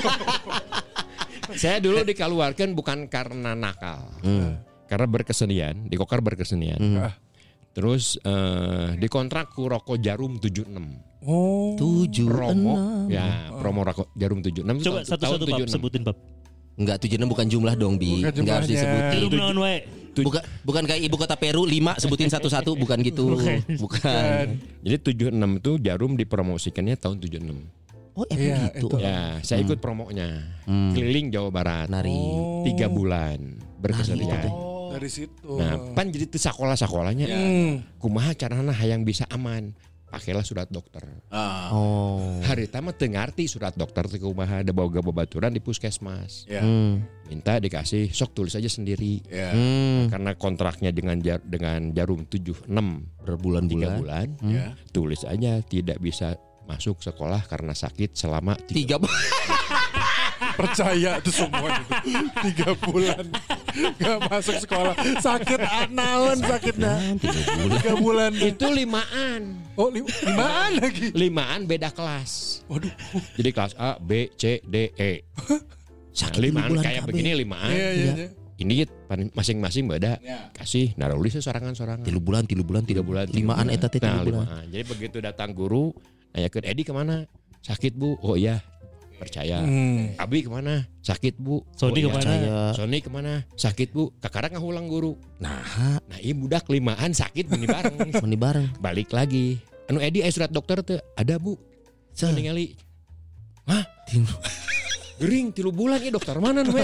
Saya dulu dikeluarkan bukan karena nakal. Hmm. Karena berkesenian, di Kokar berkesenian. Hmm. Terus eh, dikontrak ku Rokok Jarum tujuh puluh enam. Oh. Tujuh Promo enam. ya, promo Rokok Jarum tujuh puluh enam. Coba satu-satu Pap sebutin Pap. Enggak, tujuh enam bukan jumlah dong, Bi. Bukan Enggak harus jumlahnya. disebutin. Belum naon wae. Bukan bukan kayak ibu kota Peru lima sebutin satu-satu bukan gitu. Bukan. Bukan. Jadi tujuh puluh enam itu Jarum dipromosikannya tahun tujuh puluh enam. Oh, emang Iya, gitu. itu. Ya, saya ikut promonya. Hmm. Keliling Jawa Barat. Nari. Tiga bulan berkesenian. Oh. Dari situ. Nah, pan jadi tuh sekolah-sekolahnya. Hmm. Kumaha carana hayang bisa aman. Pakailah surat dokter. Ah. Oh. Hari tama teu ngarti surat dokter teh kumaha ada boga babaturan di puskesmas. Ya. Hmm. Minta dikasih sok tulis aja sendiri. Ya. Hmm. Karena kontraknya dengan jar, dengan Jarum tujuh puluh enam tiga Berbulan-bulan. bulan, Ya. tulis aja tidak bisa masuk sekolah karena sakit selama tiga Tiga bulan. Percaya tuh semua itu. Tiga bulan. Gak masuk sekolah. Sakit anaon sakitnya. Tiga bulan. Tiga bulan. itu limaan. Oh, lim- limaan lagi. Limaan beda kelas. Waduh. Jadi kelas A, B, C, D, E. Nah, Sakit limaan bulan kayak K B. begini limaan. Iya, iya, iya. Ini pan- masing-masing beda. Kasih narulis sorangan-sorangan. Tilu bulan, tilu bulan, tilu bulan, bulan. Limaan eta teh Nah, tilu bulan. limaan. Jadi begitu datang guru, nanya ke Edi kemana? Sakit bu. Oh iya, percaya. Hmm. Abi kemana? Sakit bu. Sony iya. kemana? Percaya. Sony kemana? Sakit bu. Kakara ngahulang guru. Nah, Nah iya budak limaan sakit meni bareng. meni bareng. Balik lagi. Anu Edi aya surat dokter tuh ada bu. Saya ningali. Hah? Gering tilu bulan ya dokter mana nu?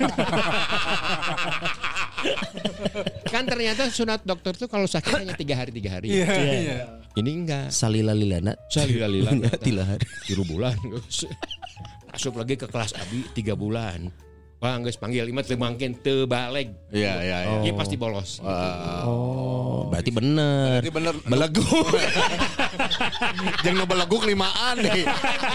Kan ternyata surat dokter tuh kalau sakit hanya tiga hari tiga hari. Iya, iya. Ini enggak. Salila lilana. Salila-lila. Tilahar. Tilu bulan. Masuk lagi ke kelas Abi tiga bulan. Wah geus panggil imah teu mangkin teu balik. Iya, iya, iya. Ieu pasti bolos. Oh, berarti bener. Berarti bener. Beleguk. Jangan ngebeleguk limaan deh.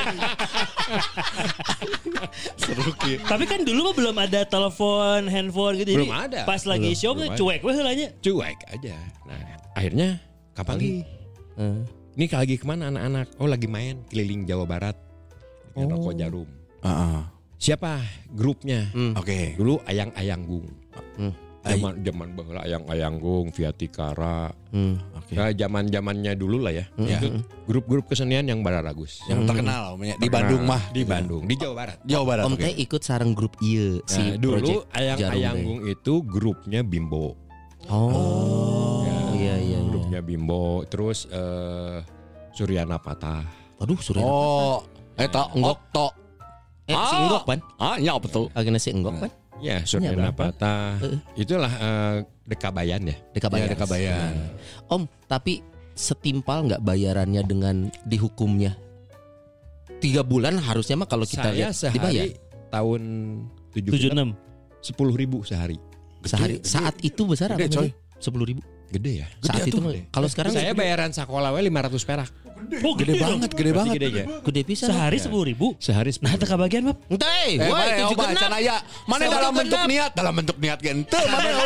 Seru ki. Tapi kan dulu mah belum ada telepon, handphone gitu. Belum Jadi ada. Pas lagi Belum, show belum mah ada. cuek we heulanya. Cuek aja. Nah, akhirnya kapan lagi? Eh, Ini lagi kemana anak-anak? Oh lagi main keliling Jawa Barat. yang rokok jarum. Uh-uh. Siapa grupnya? Hmm. Oke. Dulu Ayang-Ayang Gung. Hmm. Zaman zaman baheula Ayang-Ayang Gung, Viatikara. Hmm. Oke. Nah, zaman-zamannya dulu lah ya. Ya. Itu grup-grup kesenian yang bararagus. Yang terkenal namanya di Bandung mah. Di Bandung, di Jawa Barat. Jawa Barat. Om oke. teh ikut sareng grup ieu si Nah, dulu project Ayang-Ayang Jarum Gung itu grupnya Bimbo. teh. Oh. Iya iya. Grupnya Bimbo, terus eh, Suryana Patah. Aduh, Surya. Oh, eta Enggok. Okto. Eh, si Ah. Enggok pan? Ah, ya betul. Agena si Enggok pan? Ya, Suryana berapa? Patah. Heeh. Itulah eh, Dekabayan ya. Dekabayan. Ya, Dekabayan. Om, tapi setimpal nggak bayarannya dengan dihukumnya? Tiga bulan harusnya mah kalau kita Saya lihat dibayar sehari tahun tujuh tujuh puluh enam. sepuluh ribu sehari. sehari. Saat itu besar Gede, apa coy. Sepuluh ribu. Gede ya. Saat itu mah. Kalau sekarang Saya bayaran sekolah we lima ratus perak. Oh, Gede banget, gede banget. Gede ya. gede pisan. Sehari sepuluh ribu. Sehari Nah, sepuluh. teka bagian mah. Entah, Eh, wah mana itu ya, juga Oba, genap. can aya. Mana Sama dalam juga bentuk genap. niat, dalam bentuk niat ge henteu mana ya.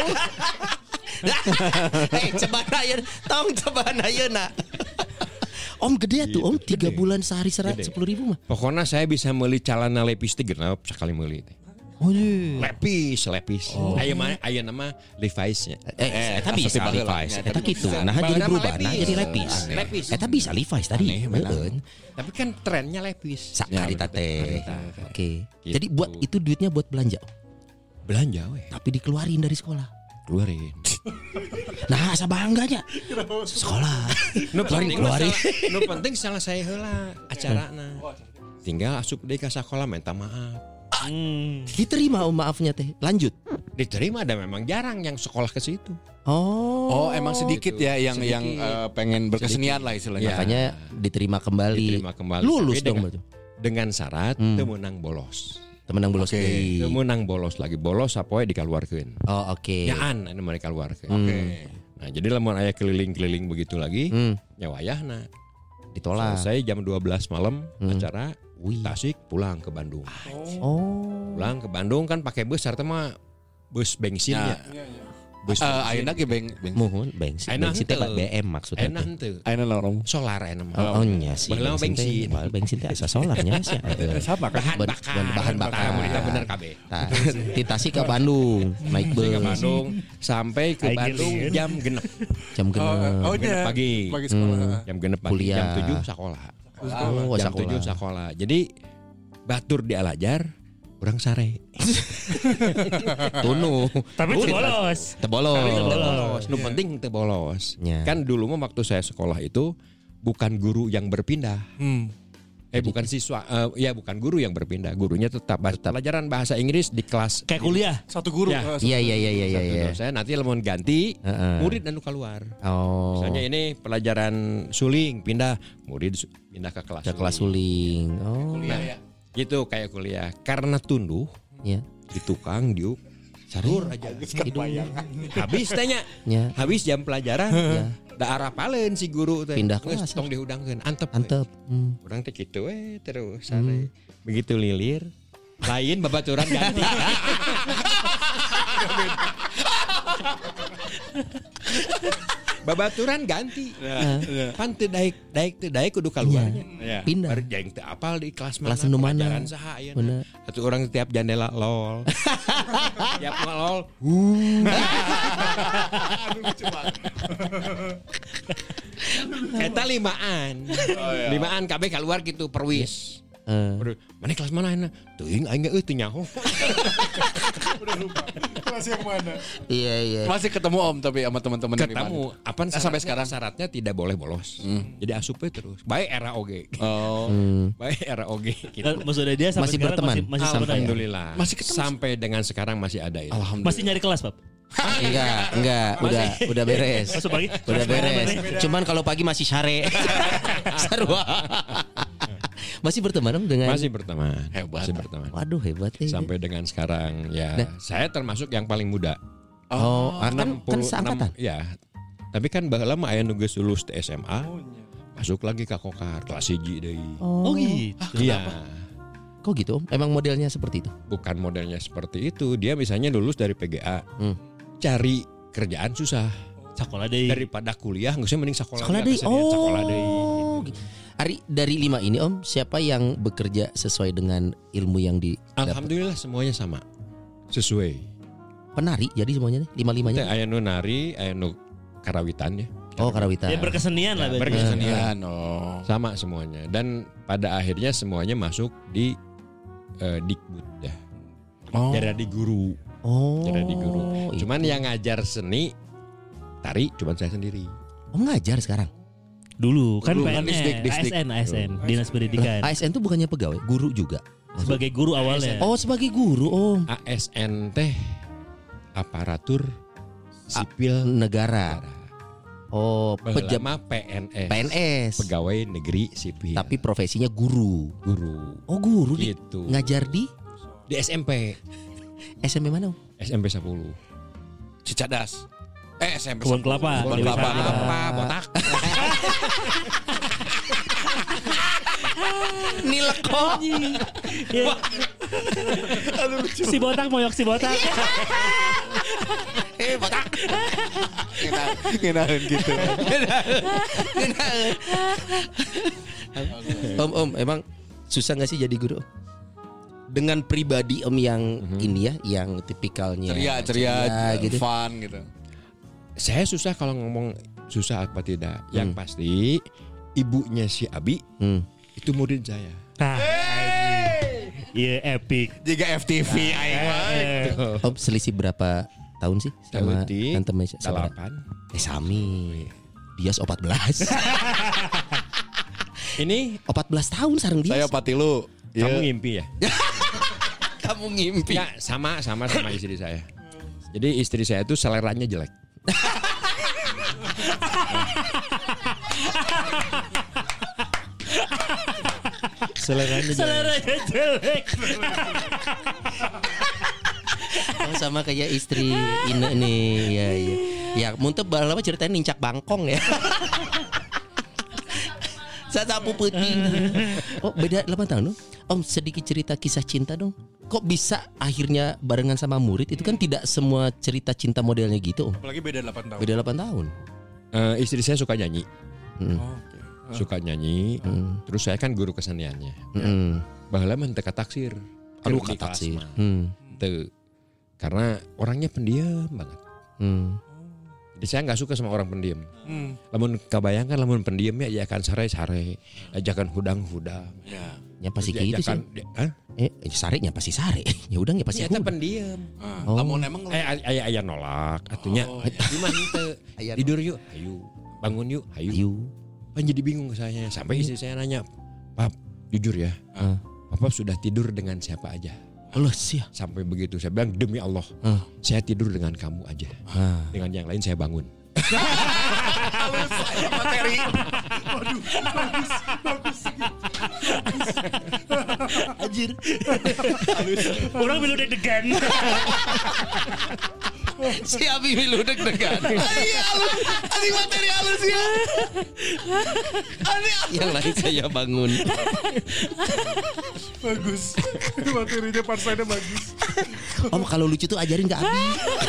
Eh, cobaan ayeuna, tong cobaan ayeuna. Om gede tuh, Om tiga gede. bulan sehari serat Gede. sepuluh ribu mah. Pokoknya saya bisa meuli calana lepis teh genep sekali meuli teh. Oh iya. Lepis, lepis. Aya mah aya nama Levi's-nya. Eh, eta bisa asup baheula. Levi's, eta kitu. bisa. Nah jadi Baheula berubah, mah nah lepis. jadi Levi's. Lepis. Eta bisa Levi's tadi. Aneh, benar. Heeh. Tapi kan trennya lepis. Sakarita teh. Oke. Gitu. Jadi buat itu duitnya buat belanja. Belanja we, Tapi dikeluarin dari sekolah. keluarin. Nah, asa bangganya. Sekolah. Nu Keluarin, penting keluarin. masalah- nu penting salah saya heula acarana. Tinggal asup deui ka sekolah minta maaf. Hmm. Diterima om maafnya teh. Lanjut. Diterima dan memang jarang yang sekolah ke situ. Oh. Oh, emang sedikit gitu. ya yang Sedikit. yang eh, pengen berkesenian lah istilahnya. Ya. Makanya diterima kembali. Diterima kembali. Lulus Tapi dong dengan, berarti. dengan syarat Hmm. teu meunang bolos. Temenang bolos Oke. deui. Teu meunang bolos lagi. Bolos sapoe dikaluarkeun. Oh, oke. Nyaan anu mereka keluarkeun. Hmm. Nah, jadi lamun aya keliling-keliling begitu lagi, Hmm. nyawayahna. Ditolak. Selesai jam dua belas malam Hmm. acara Wih. Tasik pulang ke Bandung. Oh. Pulang ke Bandung kan pakai bus sarta mah bus bensin Ya. ya. Bus Eh, bensin. ayeuna ge beng beng. Mohon bensin. Enak Bensin teh henteu. B M maksudnya. Enak teh. henteu. Ayeuna lorong. Solar enak mah. Oh, oh nya sih. Baheula mah teh, bensin. baheula bensin teh asa solarnya sih. Sama kan? Bahan Ban- bakar. ban- bahan bakar. Tah, kita bener kabeh. Nah, di Tasik ke Bandung naik bus. Ke Bandung sampai ke Aing Bandung giling. jam genep. Jam genep. Oh, Genep iya. pagi. Pagi sekolah. Jam genep pagi. Kuliah. Jam tujuh sekolah. Oh, Jam sekolah. tujuh sekolah. Jadi batur di Alajar orang sare. Tunu. Tapi itu bolos. Tebolos. Tapi teu Bolos. Nu penting teu bolos. Ya. Kan dulu mah waktu saya sekolah itu bukan guru yang berpindah. Hmm. Eh bukan siswa, eh, ya bukan guru yang berpindah, gurunya tetap, tetap. Pelajaran bahasa Inggris di kelas. Kayak kuliah. Satu guru. Ya. eh, Iya iya iya iya Satu iya. dosen, nanti lemon ganti, Heeh. murid dan keluar. Oh. Misalnya ini pelajaran suling pindah, murid su- pindah ke kelas. ke kelas suling. Oh. Nah, gitu kayak kuliah. Karena tunduh Ya. di tukang diuk sarur aja. Hidung. Habis tanya, Ya. habis jam pelajaran. Ya. Da arapaleun si guru teh. Pindah Geus kelas. tong dihudangkeun, antep. we. Antep. Hmm. Urang teh kitu we terus sare. Begitu lilir, lain babaturan ganti. Babaturan ganti. Pan teu daek daek teu daek kudu kaluarnya. Ya. Pindah. Bari jaing teu apal di kelas mana. Kelas nu mana. pelajaran saha ayeuna. Bener. Atuh urang tiap jandela lol. Tiap mah lol. Eta limaan. Limaan kabeh keluar gitu perwis. Eh. Aduh, mana kelas mana ayeuna? Teuing aing geus teu nyaho. Kelas yang mana? Iya iya. Masih ketemu Om tapi sama teman-teman dari Ketemu. mana? Apa Nah, sampai sekarang? syaratnya tidak boleh bolos. Jadi asupnya terus. Baik era oge. Oh. Hmm. Baik era oge Dan gitu. maksudnya dia sampai Masih sekarang berteman? Masih, masih sampai Alhamdulillah. Masih ketemu? Sampai dengan sekarang masih ada itu. Alhamdulillah. Masih nyari kelas, Pap. Enggak, enggak, udah udah beres. Masuk pagi. Udah beres. Cuman kalau pagi masih sare. Sarua. Masih berteman Om dengan Masih berteman. Hebat. Masih berteman. Waduh hebat ya. Sampai dengan sekarang ya Nah. saya termasuk yang paling muda. Oh, ah, kan, kan enam puluh enam, seangkatan. ya. Tapi kan baheula mah aya nu geus lulus di S M A. Masuk lagi ke Kokar kelas hiji deui. Oh gitu. Iya. Kok gitu Om? Emang modelnya seperti itu? Bukan modelnya seperti itu. Dia misalnya lulus dari P G A. Hmm. Cari kerjaan susah. Sekolah deh. Daripada kuliah nggak usah mending sekolah. Sekolah nggak deui. kesenian, sekolah deui. Oh. Ari, dari lima ini Om, siapa yang bekerja sesuai dengan ilmu yang di Alhamdulillah semuanya sama. Sesuai. penari jadi semuanya nih, lima-limanya? Aya nu nari, aya nu karawitan ya. Oh, karawitan. Ya berkesenian lah Ya, berarti. berkesenian. oh. Sama semuanya. Dan pada akhirnya semuanya masuk di eh, Dikbud ya. Oh. Jadi guru. Oh. Jadi guru. Cuman itu. yang ngajar seni tari cuman saya sendiri. Oh, ngajar sekarang. Dulu kan Dulu, P N S, Disdik, Disdik. A S N, A S N, Dinas Pendidikan. A S N tuh bukannya pegawai, guru juga. Sebagai guru awalnya. Oh, sebagai guru, Om. A S N teh aparatur sipil Negara. Oh, pejabat Pejama P N S. P N S. Pegawai negeri sipil. Tapi profesinya guru. guru. Oh, guru di Gitu. ngajar di Di S M P. S M P mana, Om? S M P sepuluh. Cicadas. Eh, S M P Kebun kelapa. Kebun Dewi kelapa. Sartika. Apa botak? Nileko. Ya. Si botak moyok si botak. Eh, botak. Kenalin gitu. Om, Om, emang susah gak sih jadi guru? Dengan pribadi Om yang ini ya, yang tipikalnya Ceria, ceria, gitu. fun gitu. Saya susah kalau ngomong susah apa tidak. Yang pasti ibunya si Abi Hmm. itu murid saya. Nah, iya epic. Jika F T V aing mah. Eh, Om selisih berapa tahun sih sama Tahun Tante Mesya? Sabar. delapan. Eh, sami. Dia empat belas. Ini empat belas tahun sareng dia. Saya patilu. kamu ngimpi ya? Kamu ngimpi. Ya sama sama sama istri saya. Jadi istri saya itu seleranya jelek. Seleranya jelek. Seleranya jelek. Oh, sama kayak istri Ine nih. Ya, ya. Ya, muntah balama ceritain nincak bangkong ya. Sasapu peuting. Oh, beda delapan tahun dong. Om, sedikit cerita kisah cinta dong. Kok bisa akhirnya barengan sama murid? Itu kan tidak semua cerita cinta modelnya gitu, Om. Apalagi beda delapan tahun. Beda delapan tahun. Eh, istri saya suka nyanyi, Hmm. Oh, oke. suka nyanyi. Hmm. Terus saya kan guru keseniannya. Hmm. Baheula mah teu ka taksir. Aduh, Keur di kata kelas sih. mah. Hmm. Teu. Karena orangnya pendiam banget. Hmm. Jadi saya nggak suka sama orang pendiam. Hmm. Lamun kebayangkan lamun pendiamnya ya akan sare-sare, ajakan hudang-hudang. Ya. Ya pasti Terus kayak gitu sih. diajakan- di- Hah? Eh, sare nya pasti sare. Ya udah ya pasti Ternyata hudang. pendiam. Ah, Oh. Lamun emang Eh aya aya nolak atunya. Di mana teu? Aya Tidur yuk, ayo. Bangun yuk, ayo. Ayo. Kan jadi bingung saya. Sampai istri saya nanya, "Pap, jujur ya. Ah. Papa sudah tidur dengan siapa aja?" Allah sih. Sampai begitu saya bilang, "Demi Allah, Ah. saya tidur dengan kamu aja. Ah. Dengan yang lain saya bangun." materi. Anjir. Orang bilu deg-degan. Si Abi milu deg-degan. Iya, halus. Anjing materi halus ya. Yang lain saya bangun. Bagus. Materinya parsanya bagus. Om, kalau lucu tuh ajarin ke Abi.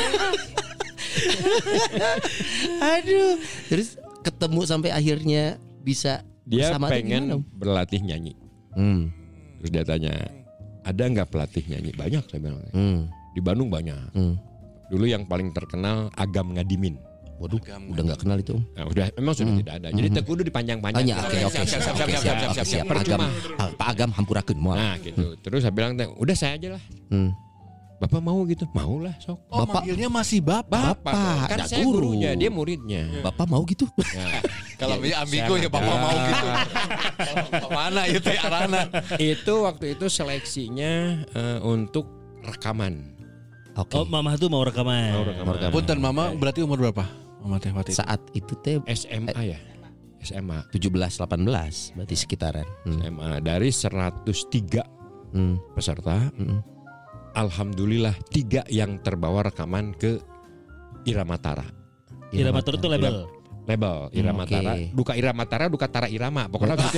Aduh. Terus ketemu sampai akhirnya bisa Dia bersama tuh pengen gimana, Om? berlatih nyanyi. Hmm. Terus dia tanya, "Ada nggak pelatih nyanyi?" Banyak saya bilang. Hmm. Di Bandung banyak. Hmm. Dulu yang paling terkenal Agam Ngadimin. Waduh, udah nggak kenal itu, Om. Nah, udah memang sudah tidak ada. Jadi teu kudu Oh dipanjang-panjang. ya, oke oke Siap, siap, siap, Oke, siap, siap, oke, siap, siap. Pak Agam, Percuma. ah, Pak Agam hampurakeun moal. Nah, gitu. Terus saya bilang, "Teh, udah saya aja lah. Hmm. Bapak mau gitu?" "Mau lah, sok." Oh, Bapak- manggilnya masih bapak. Bapak, kan dak saya guru. gurunya, dia muridnya. Bapak mau gitu? Nah, Kalau ya, punya ambigo saya ya bapak ada. mau gitu. Mana itu ya arana? Itu waktu itu seleksinya eh, untuk rekaman. Oke. Oh, mama tuh mau rekaman. Mau rekaman. rekaman. Punten mama berarti umur berapa? Mama teh waktu itu. Saat itu teh S M A ya? S M A. tujuh belas delapan belas berarti sekitaran. Hmm. S M A dari seratus tiga Hmm. peserta. Hmm. Alhamdulillah tiga yang terbawa rekaman ke Irama Tara. Irama Tara itu label. Label Irama Hmm, oke. Tara. Duka Irama Tara, duka Tara Irama. Pokoknya gitu.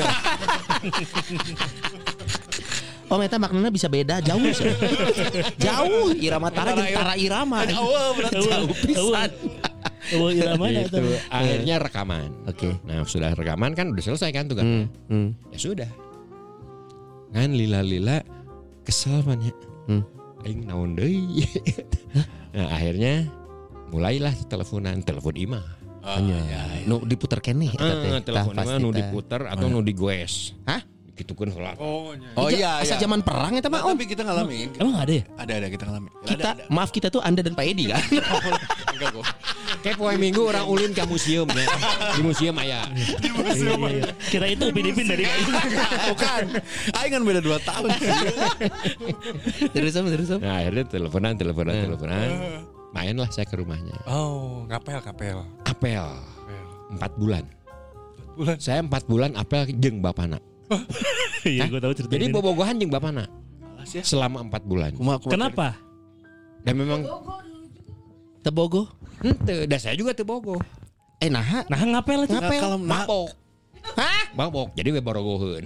Oh, eta maknanya bisa beda jauh sih. Jauh Irama Tara jeung Tara Irama. Awal berarti. Jauh pisan. Oh, irama Gitu. Akhirnya rekaman. Oke. Nah sudah rekaman kan udah selesai kan tuh kan. Hmm. Hmm. Ya sudah. Kan lila-lila kesel man ya. Hmm. Aing naon deui. Nah akhirnya mulailah teleponan, telepon Ima. Hanya nu diputer keneh eta teh. Eh, telepon Tah, Ima pasti nu tah. diputer atau nu digoes. Hah? Gitukeun heula. Oh Ija, iya asa iya. zaman perang eta mah Om. Tapi kita ngalamin. Emang ada ya? Ada ada kita ngalamin. Kita, maaf kita tuh Anda dan Pak Edi kan. Enggak kok. Kayak poe minggu orang ulin ke museum ya. Di museum aya. Iya, iya. Kira itu Upin-Ipin dari Bukan. Aing kan beda dua tahun. Terus Om, terus Om. Nah akhirnya teleponan, teleponan, teleponan. Mainlah saya ke rumahnya. Oh, ngapel ngapel. Apel. Empat bulan. Bulan. Saya empat bulan apel jeung bapana. Iya, gue tahu cerita Jadi ini. bobogohan jeung bapana. ya. Selama empat bulan. Kumaha, kumaha Kenapa? Dan memang Tebogo. henteu, dan saya juga teu bogo. Eh nah. Nah, ngapel itu. Ngapel. Kalau nah, Mabok. Hah? Mabok. Jadi we borogoheun.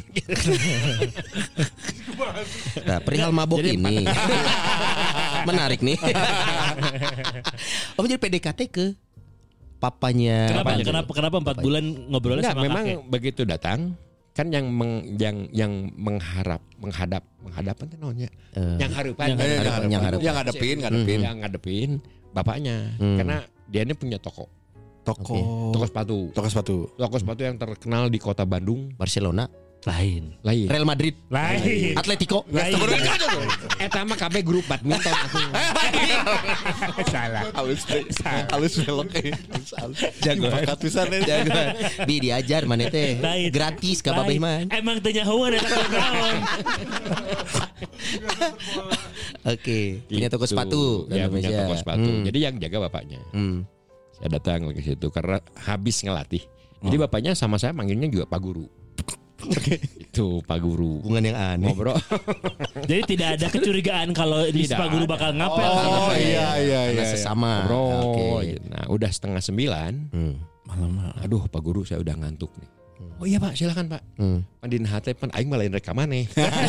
Nah, perihal mabok ini menarik nih. Om jadi P D K T ke papanya. Kenapa? Apanya? Kenapa? Kenapa empat bulan ngobrolnya Enggak, sama memang kakek? begitu datang kan yang meng, yang yang mengharap menghadap menghadapan itu namanya Eh, yang harapan yang eh, Yang yang yang ngadepin, yang ngadepin, ngadepin. yang ngadepin bapaknya Hmm. karena dia ini punya toko Toko toko sepatu toko sepatu. toko sepatu yang terkenal di kota Bandung Barcelona, Lain. lain Real Madrid, Lain. Atletico. Lain. eta mah kabeh grup badminton aku Salah. Halus teh. Halus belok eh. Halus. Jagoan. Bakat pisan eh. Jagoan. Bi diajar mana teh. Lain. Gratis ka Lain. babeh mah. Emang tanya hawan eta naon. Oke, punya toko Gitu. sepatu di ya punya Indonesia. toko sepatu Hmm. jadi yang jaga bapaknya Hmm. saya datang ke situ karena habis ngelatih jadi bapaknya sama saya manggilnya juga Pak Guru itu Pak Guru Hubungan yang aneh. ngobrol Jadi tidak ada kecurigaan kalau di Tidak Pak Guru ada. bakal ngapel. Oh iya iya Karena iya. sesama. ngobrol Oke. nah udah setengah sembilan Hmm. aduh Pak Guru saya udah ngantuk nih oh iya Pak silakan Pak Hmm. pandin hate pan aing malain rekaman nih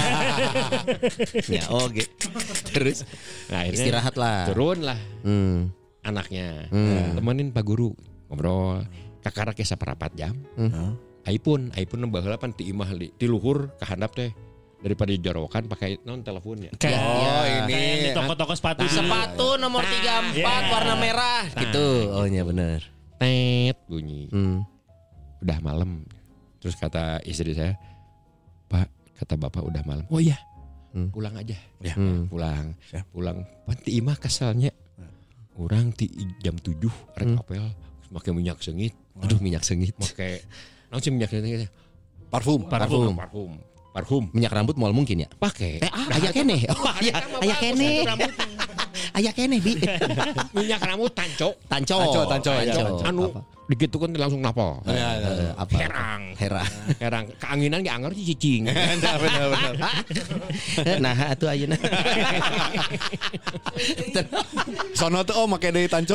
Ya oke. Terus nah, akhirnya istirahat lah. turun lah Hmm. anaknya Hmm. temenin Pak Guru ngobrol kakara ke saparapat jam Hmm. iPhone iPhone baheula pan ti imah li ti luhur ka handap teh daripada dijorokan pakai non teleponnya Kayak Oh, kayak ini. yang di toko-toko sepatu. Sepatu nomor tiga puluh empat Yeah. warna merah gitu. Oh iya benar. tet bunyi Hmm. udah malam terus kata istri saya Pak kata bapak udah malam oh iya Hmm. pulang aja Ya. Hmm. pulang Siap. pulang pan ti imah keselnya orang ti jam tujuh rek Hmm. apel pakai minyak sengit Aduh minyak sengit. pakai langsung minyak sengit Parfum. parfum parfum parfum Minyak rambut mual mungkin ya. pakai Eh, ah, aya keneh. Oh, aya aya keneh. Aya keneh bi. minyak rambut tanco Tanco. Tanco, tanco, ya. anu Apa? digitu kan langsung napal Ya, ya. Eh, apa? herang Hera. herang keanginan ge anger sih cicing Benar benar benar. Nah, atuh ayeuna. Sono tuh oh make deui tanco.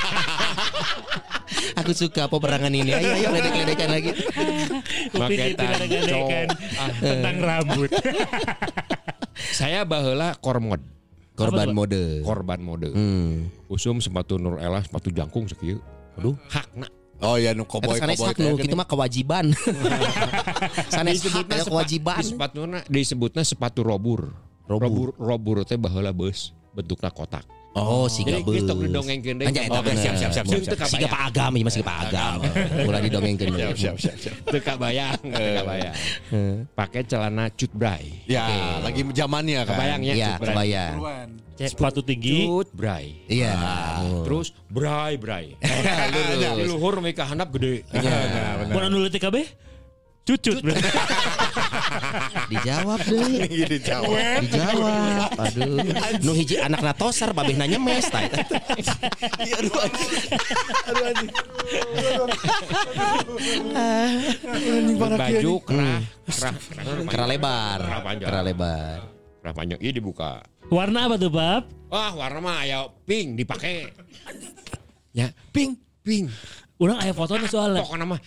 Aku suka peperangan ini. Ayo ayo ledek-ledekan lagi. Upin Pakai itu kadang-kadang Ah. tentang rambut. saya baheula kormod Korban mode. korban mode Hmm. usum sepatu Nur Ella sepatu jangkung sakieu aduh hakna Oh iya nu Eta cowboy sanes cowboy hak nu kitu mah kewajiban. Sanes hak aya kewajiban. di sepatuna disebutna sepatu robur Robur. robur robur teh baheula beus bentukna kotak Oh, siga jadi beus. geus tok didongengkeun deui Anja eta Oke, bener. siap, siap, siap, siap, Jeung teu siap. Siga kabayang. Pak Agam ieu mah siga Pak Agam. Ulah didongengkeun. Siap siap siap siap. teu kabayang teu kabayang pakai celana cut bray Ya, lagi zamannya kan. kebayangnya Iya, cut bray kebayang. Sepatu tinggi. cut bray Iya. terus bray bray di luhur mereka handap gede Mun anu leutik kabeh? Cucut. Dijawab deui. Gini jawab. Dijawab. Aduh. Nu hiji anakna tosar babehna nyemes tah. Aduh anjing. Aduh anjing. baju kerah kerah Kera lebar. Kera panjang. Kera lebar. kerah panjang ini dibuka Warna apa tuh, Bab? wah warna mah aya pink dipakai ya pink pink Urang aya fotonya soalnya. pokoknya mah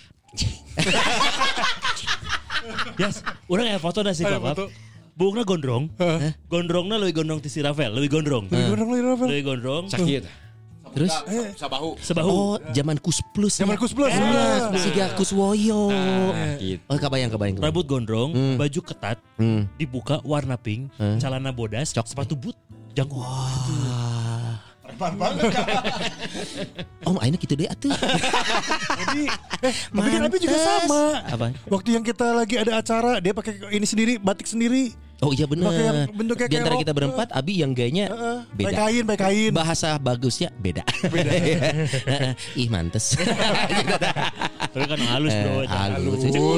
Yes, urang aya foto sih, Bab. Bungna gondrong. Gondrongna leuwih gondrong ti si Rafael, leuwih gondrong. Leuwih gondrong. sakit Terus? Sabahu. Sebahu. Oh, zaman Kus Plus. Zaman Kus Plus. Iya, Siga Kuswoyo. Nah, gitu. Oh, kebayang kebayang. kebayang. Rambut gondrong, Hmm. baju ketat, Hmm. dibuka warna pink, Hmm. celana bodas, Cok. sepatu boot, jangkung. Wah. Preman banget Kak. Om, akhirnya gitu deh atuh. Jadi, eh, tapi kan Abi juga Mantes. sama. Apa? Waktu yang kita lagi ada acara, dia pakai ini sendiri, batik sendiri. Oh iya benar. Pakai yang bentuknya Di kayak antara rok, kita berempat, Abi yang gayanya Heeh, beda. pakai kain, pakai kain. Bahasa bagusnya beda. Beda. Ih mantes. Tapi kan halus bro. Eh, halus.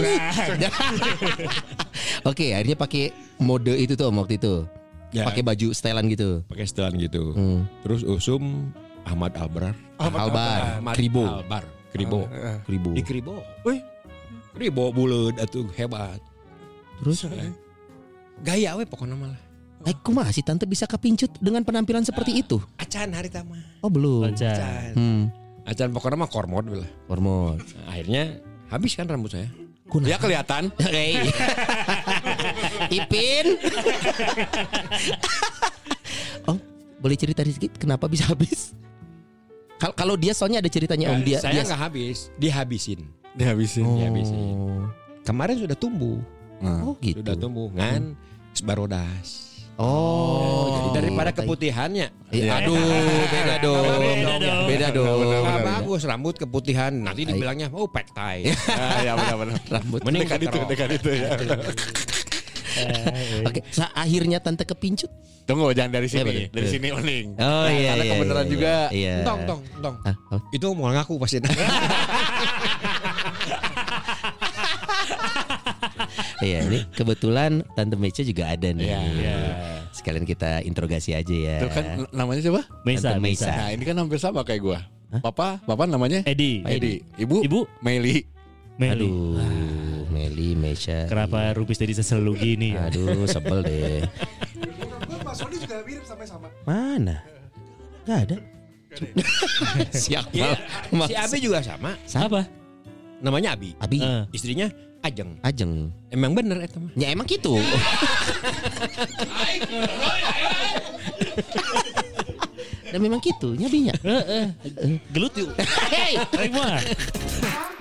Oke, akhirnya pakai mode itu tuh Om, waktu itu. Ya. Pakai baju stylean gitu. Pakai setelan gitu. Hmm. Terus usum Ahmad Albar. Albar, Ahmad Kribo, Albar, Kribo. Kribo. Di Kribo. Wih, Kribo buleud atuh hebat. Terus, Gaya we pokoknya malah. eh kumaha si tante bisa kepincut dengan penampilan seperti itu? Acan hari tama. Oh belum. Lancar. Acan. Hmm. Acan pokoknya mah kormod lah. Hormon. Nah, akhirnya habis kan rambut saya. Kunaha? Ya kelihatan. Hei. Ipin. Oh, boleh cerita sedikit kenapa bisa habis? Kal- Kalau dia soalnya ada ceritanya Om dia. saya dia- nggak habis, dihabisin. Dihabisin. Oh. dihabisin. Kemarin sudah tumbuh, Oh gitu. sudah tumbuh ngan barodas. Oh, Jadi daripada tai. keputihannya. Eh, aduh, beda dong. Beda dong. Beda dong. Ah, bagus rambut keputihan. Nanti dibilangnya oh pet tie. Ya, ya benar-benar. Rambut. Mending Dekat itu, keterok. dekat itu ya. Oke, sa- akhirnya tante kepincut. Tunggu, jangan dari Iya, sini. betul. Dari sini oning. Oh iya, karena iya, kebenaran iya, juga. Iya. Tong tong tong. Ah, oh. Itu mau ngaku pasti. Iya, ini kebetulan tante Mecha juga ada nih. Iya. Sekalian kita interogasi aja ya. Itu kan namanya siapa? Mesa, Tante Mesa. Mesa. Nah, ini kan hampir sama kayak gua. Papa, papa namanya Edi. Edi. Ibu? Ibu? Meli. Meli. Aduh, Meli, Mecha. Kenapa Rupis tadi selalu gini ya? Aduh, sebel deh. Mas Sony juga mirip sama-sama. Mana? Gak ada. Siapa? Iya, si Abi juga sama. Apa? Namanya Abi. Abi, Eh. Istrinya Ajeng. Ajeng. Emang bener eta mah. Ya emang gitu. Dan memang gitu nyabinya. Gelut yuk. Hei, Terima.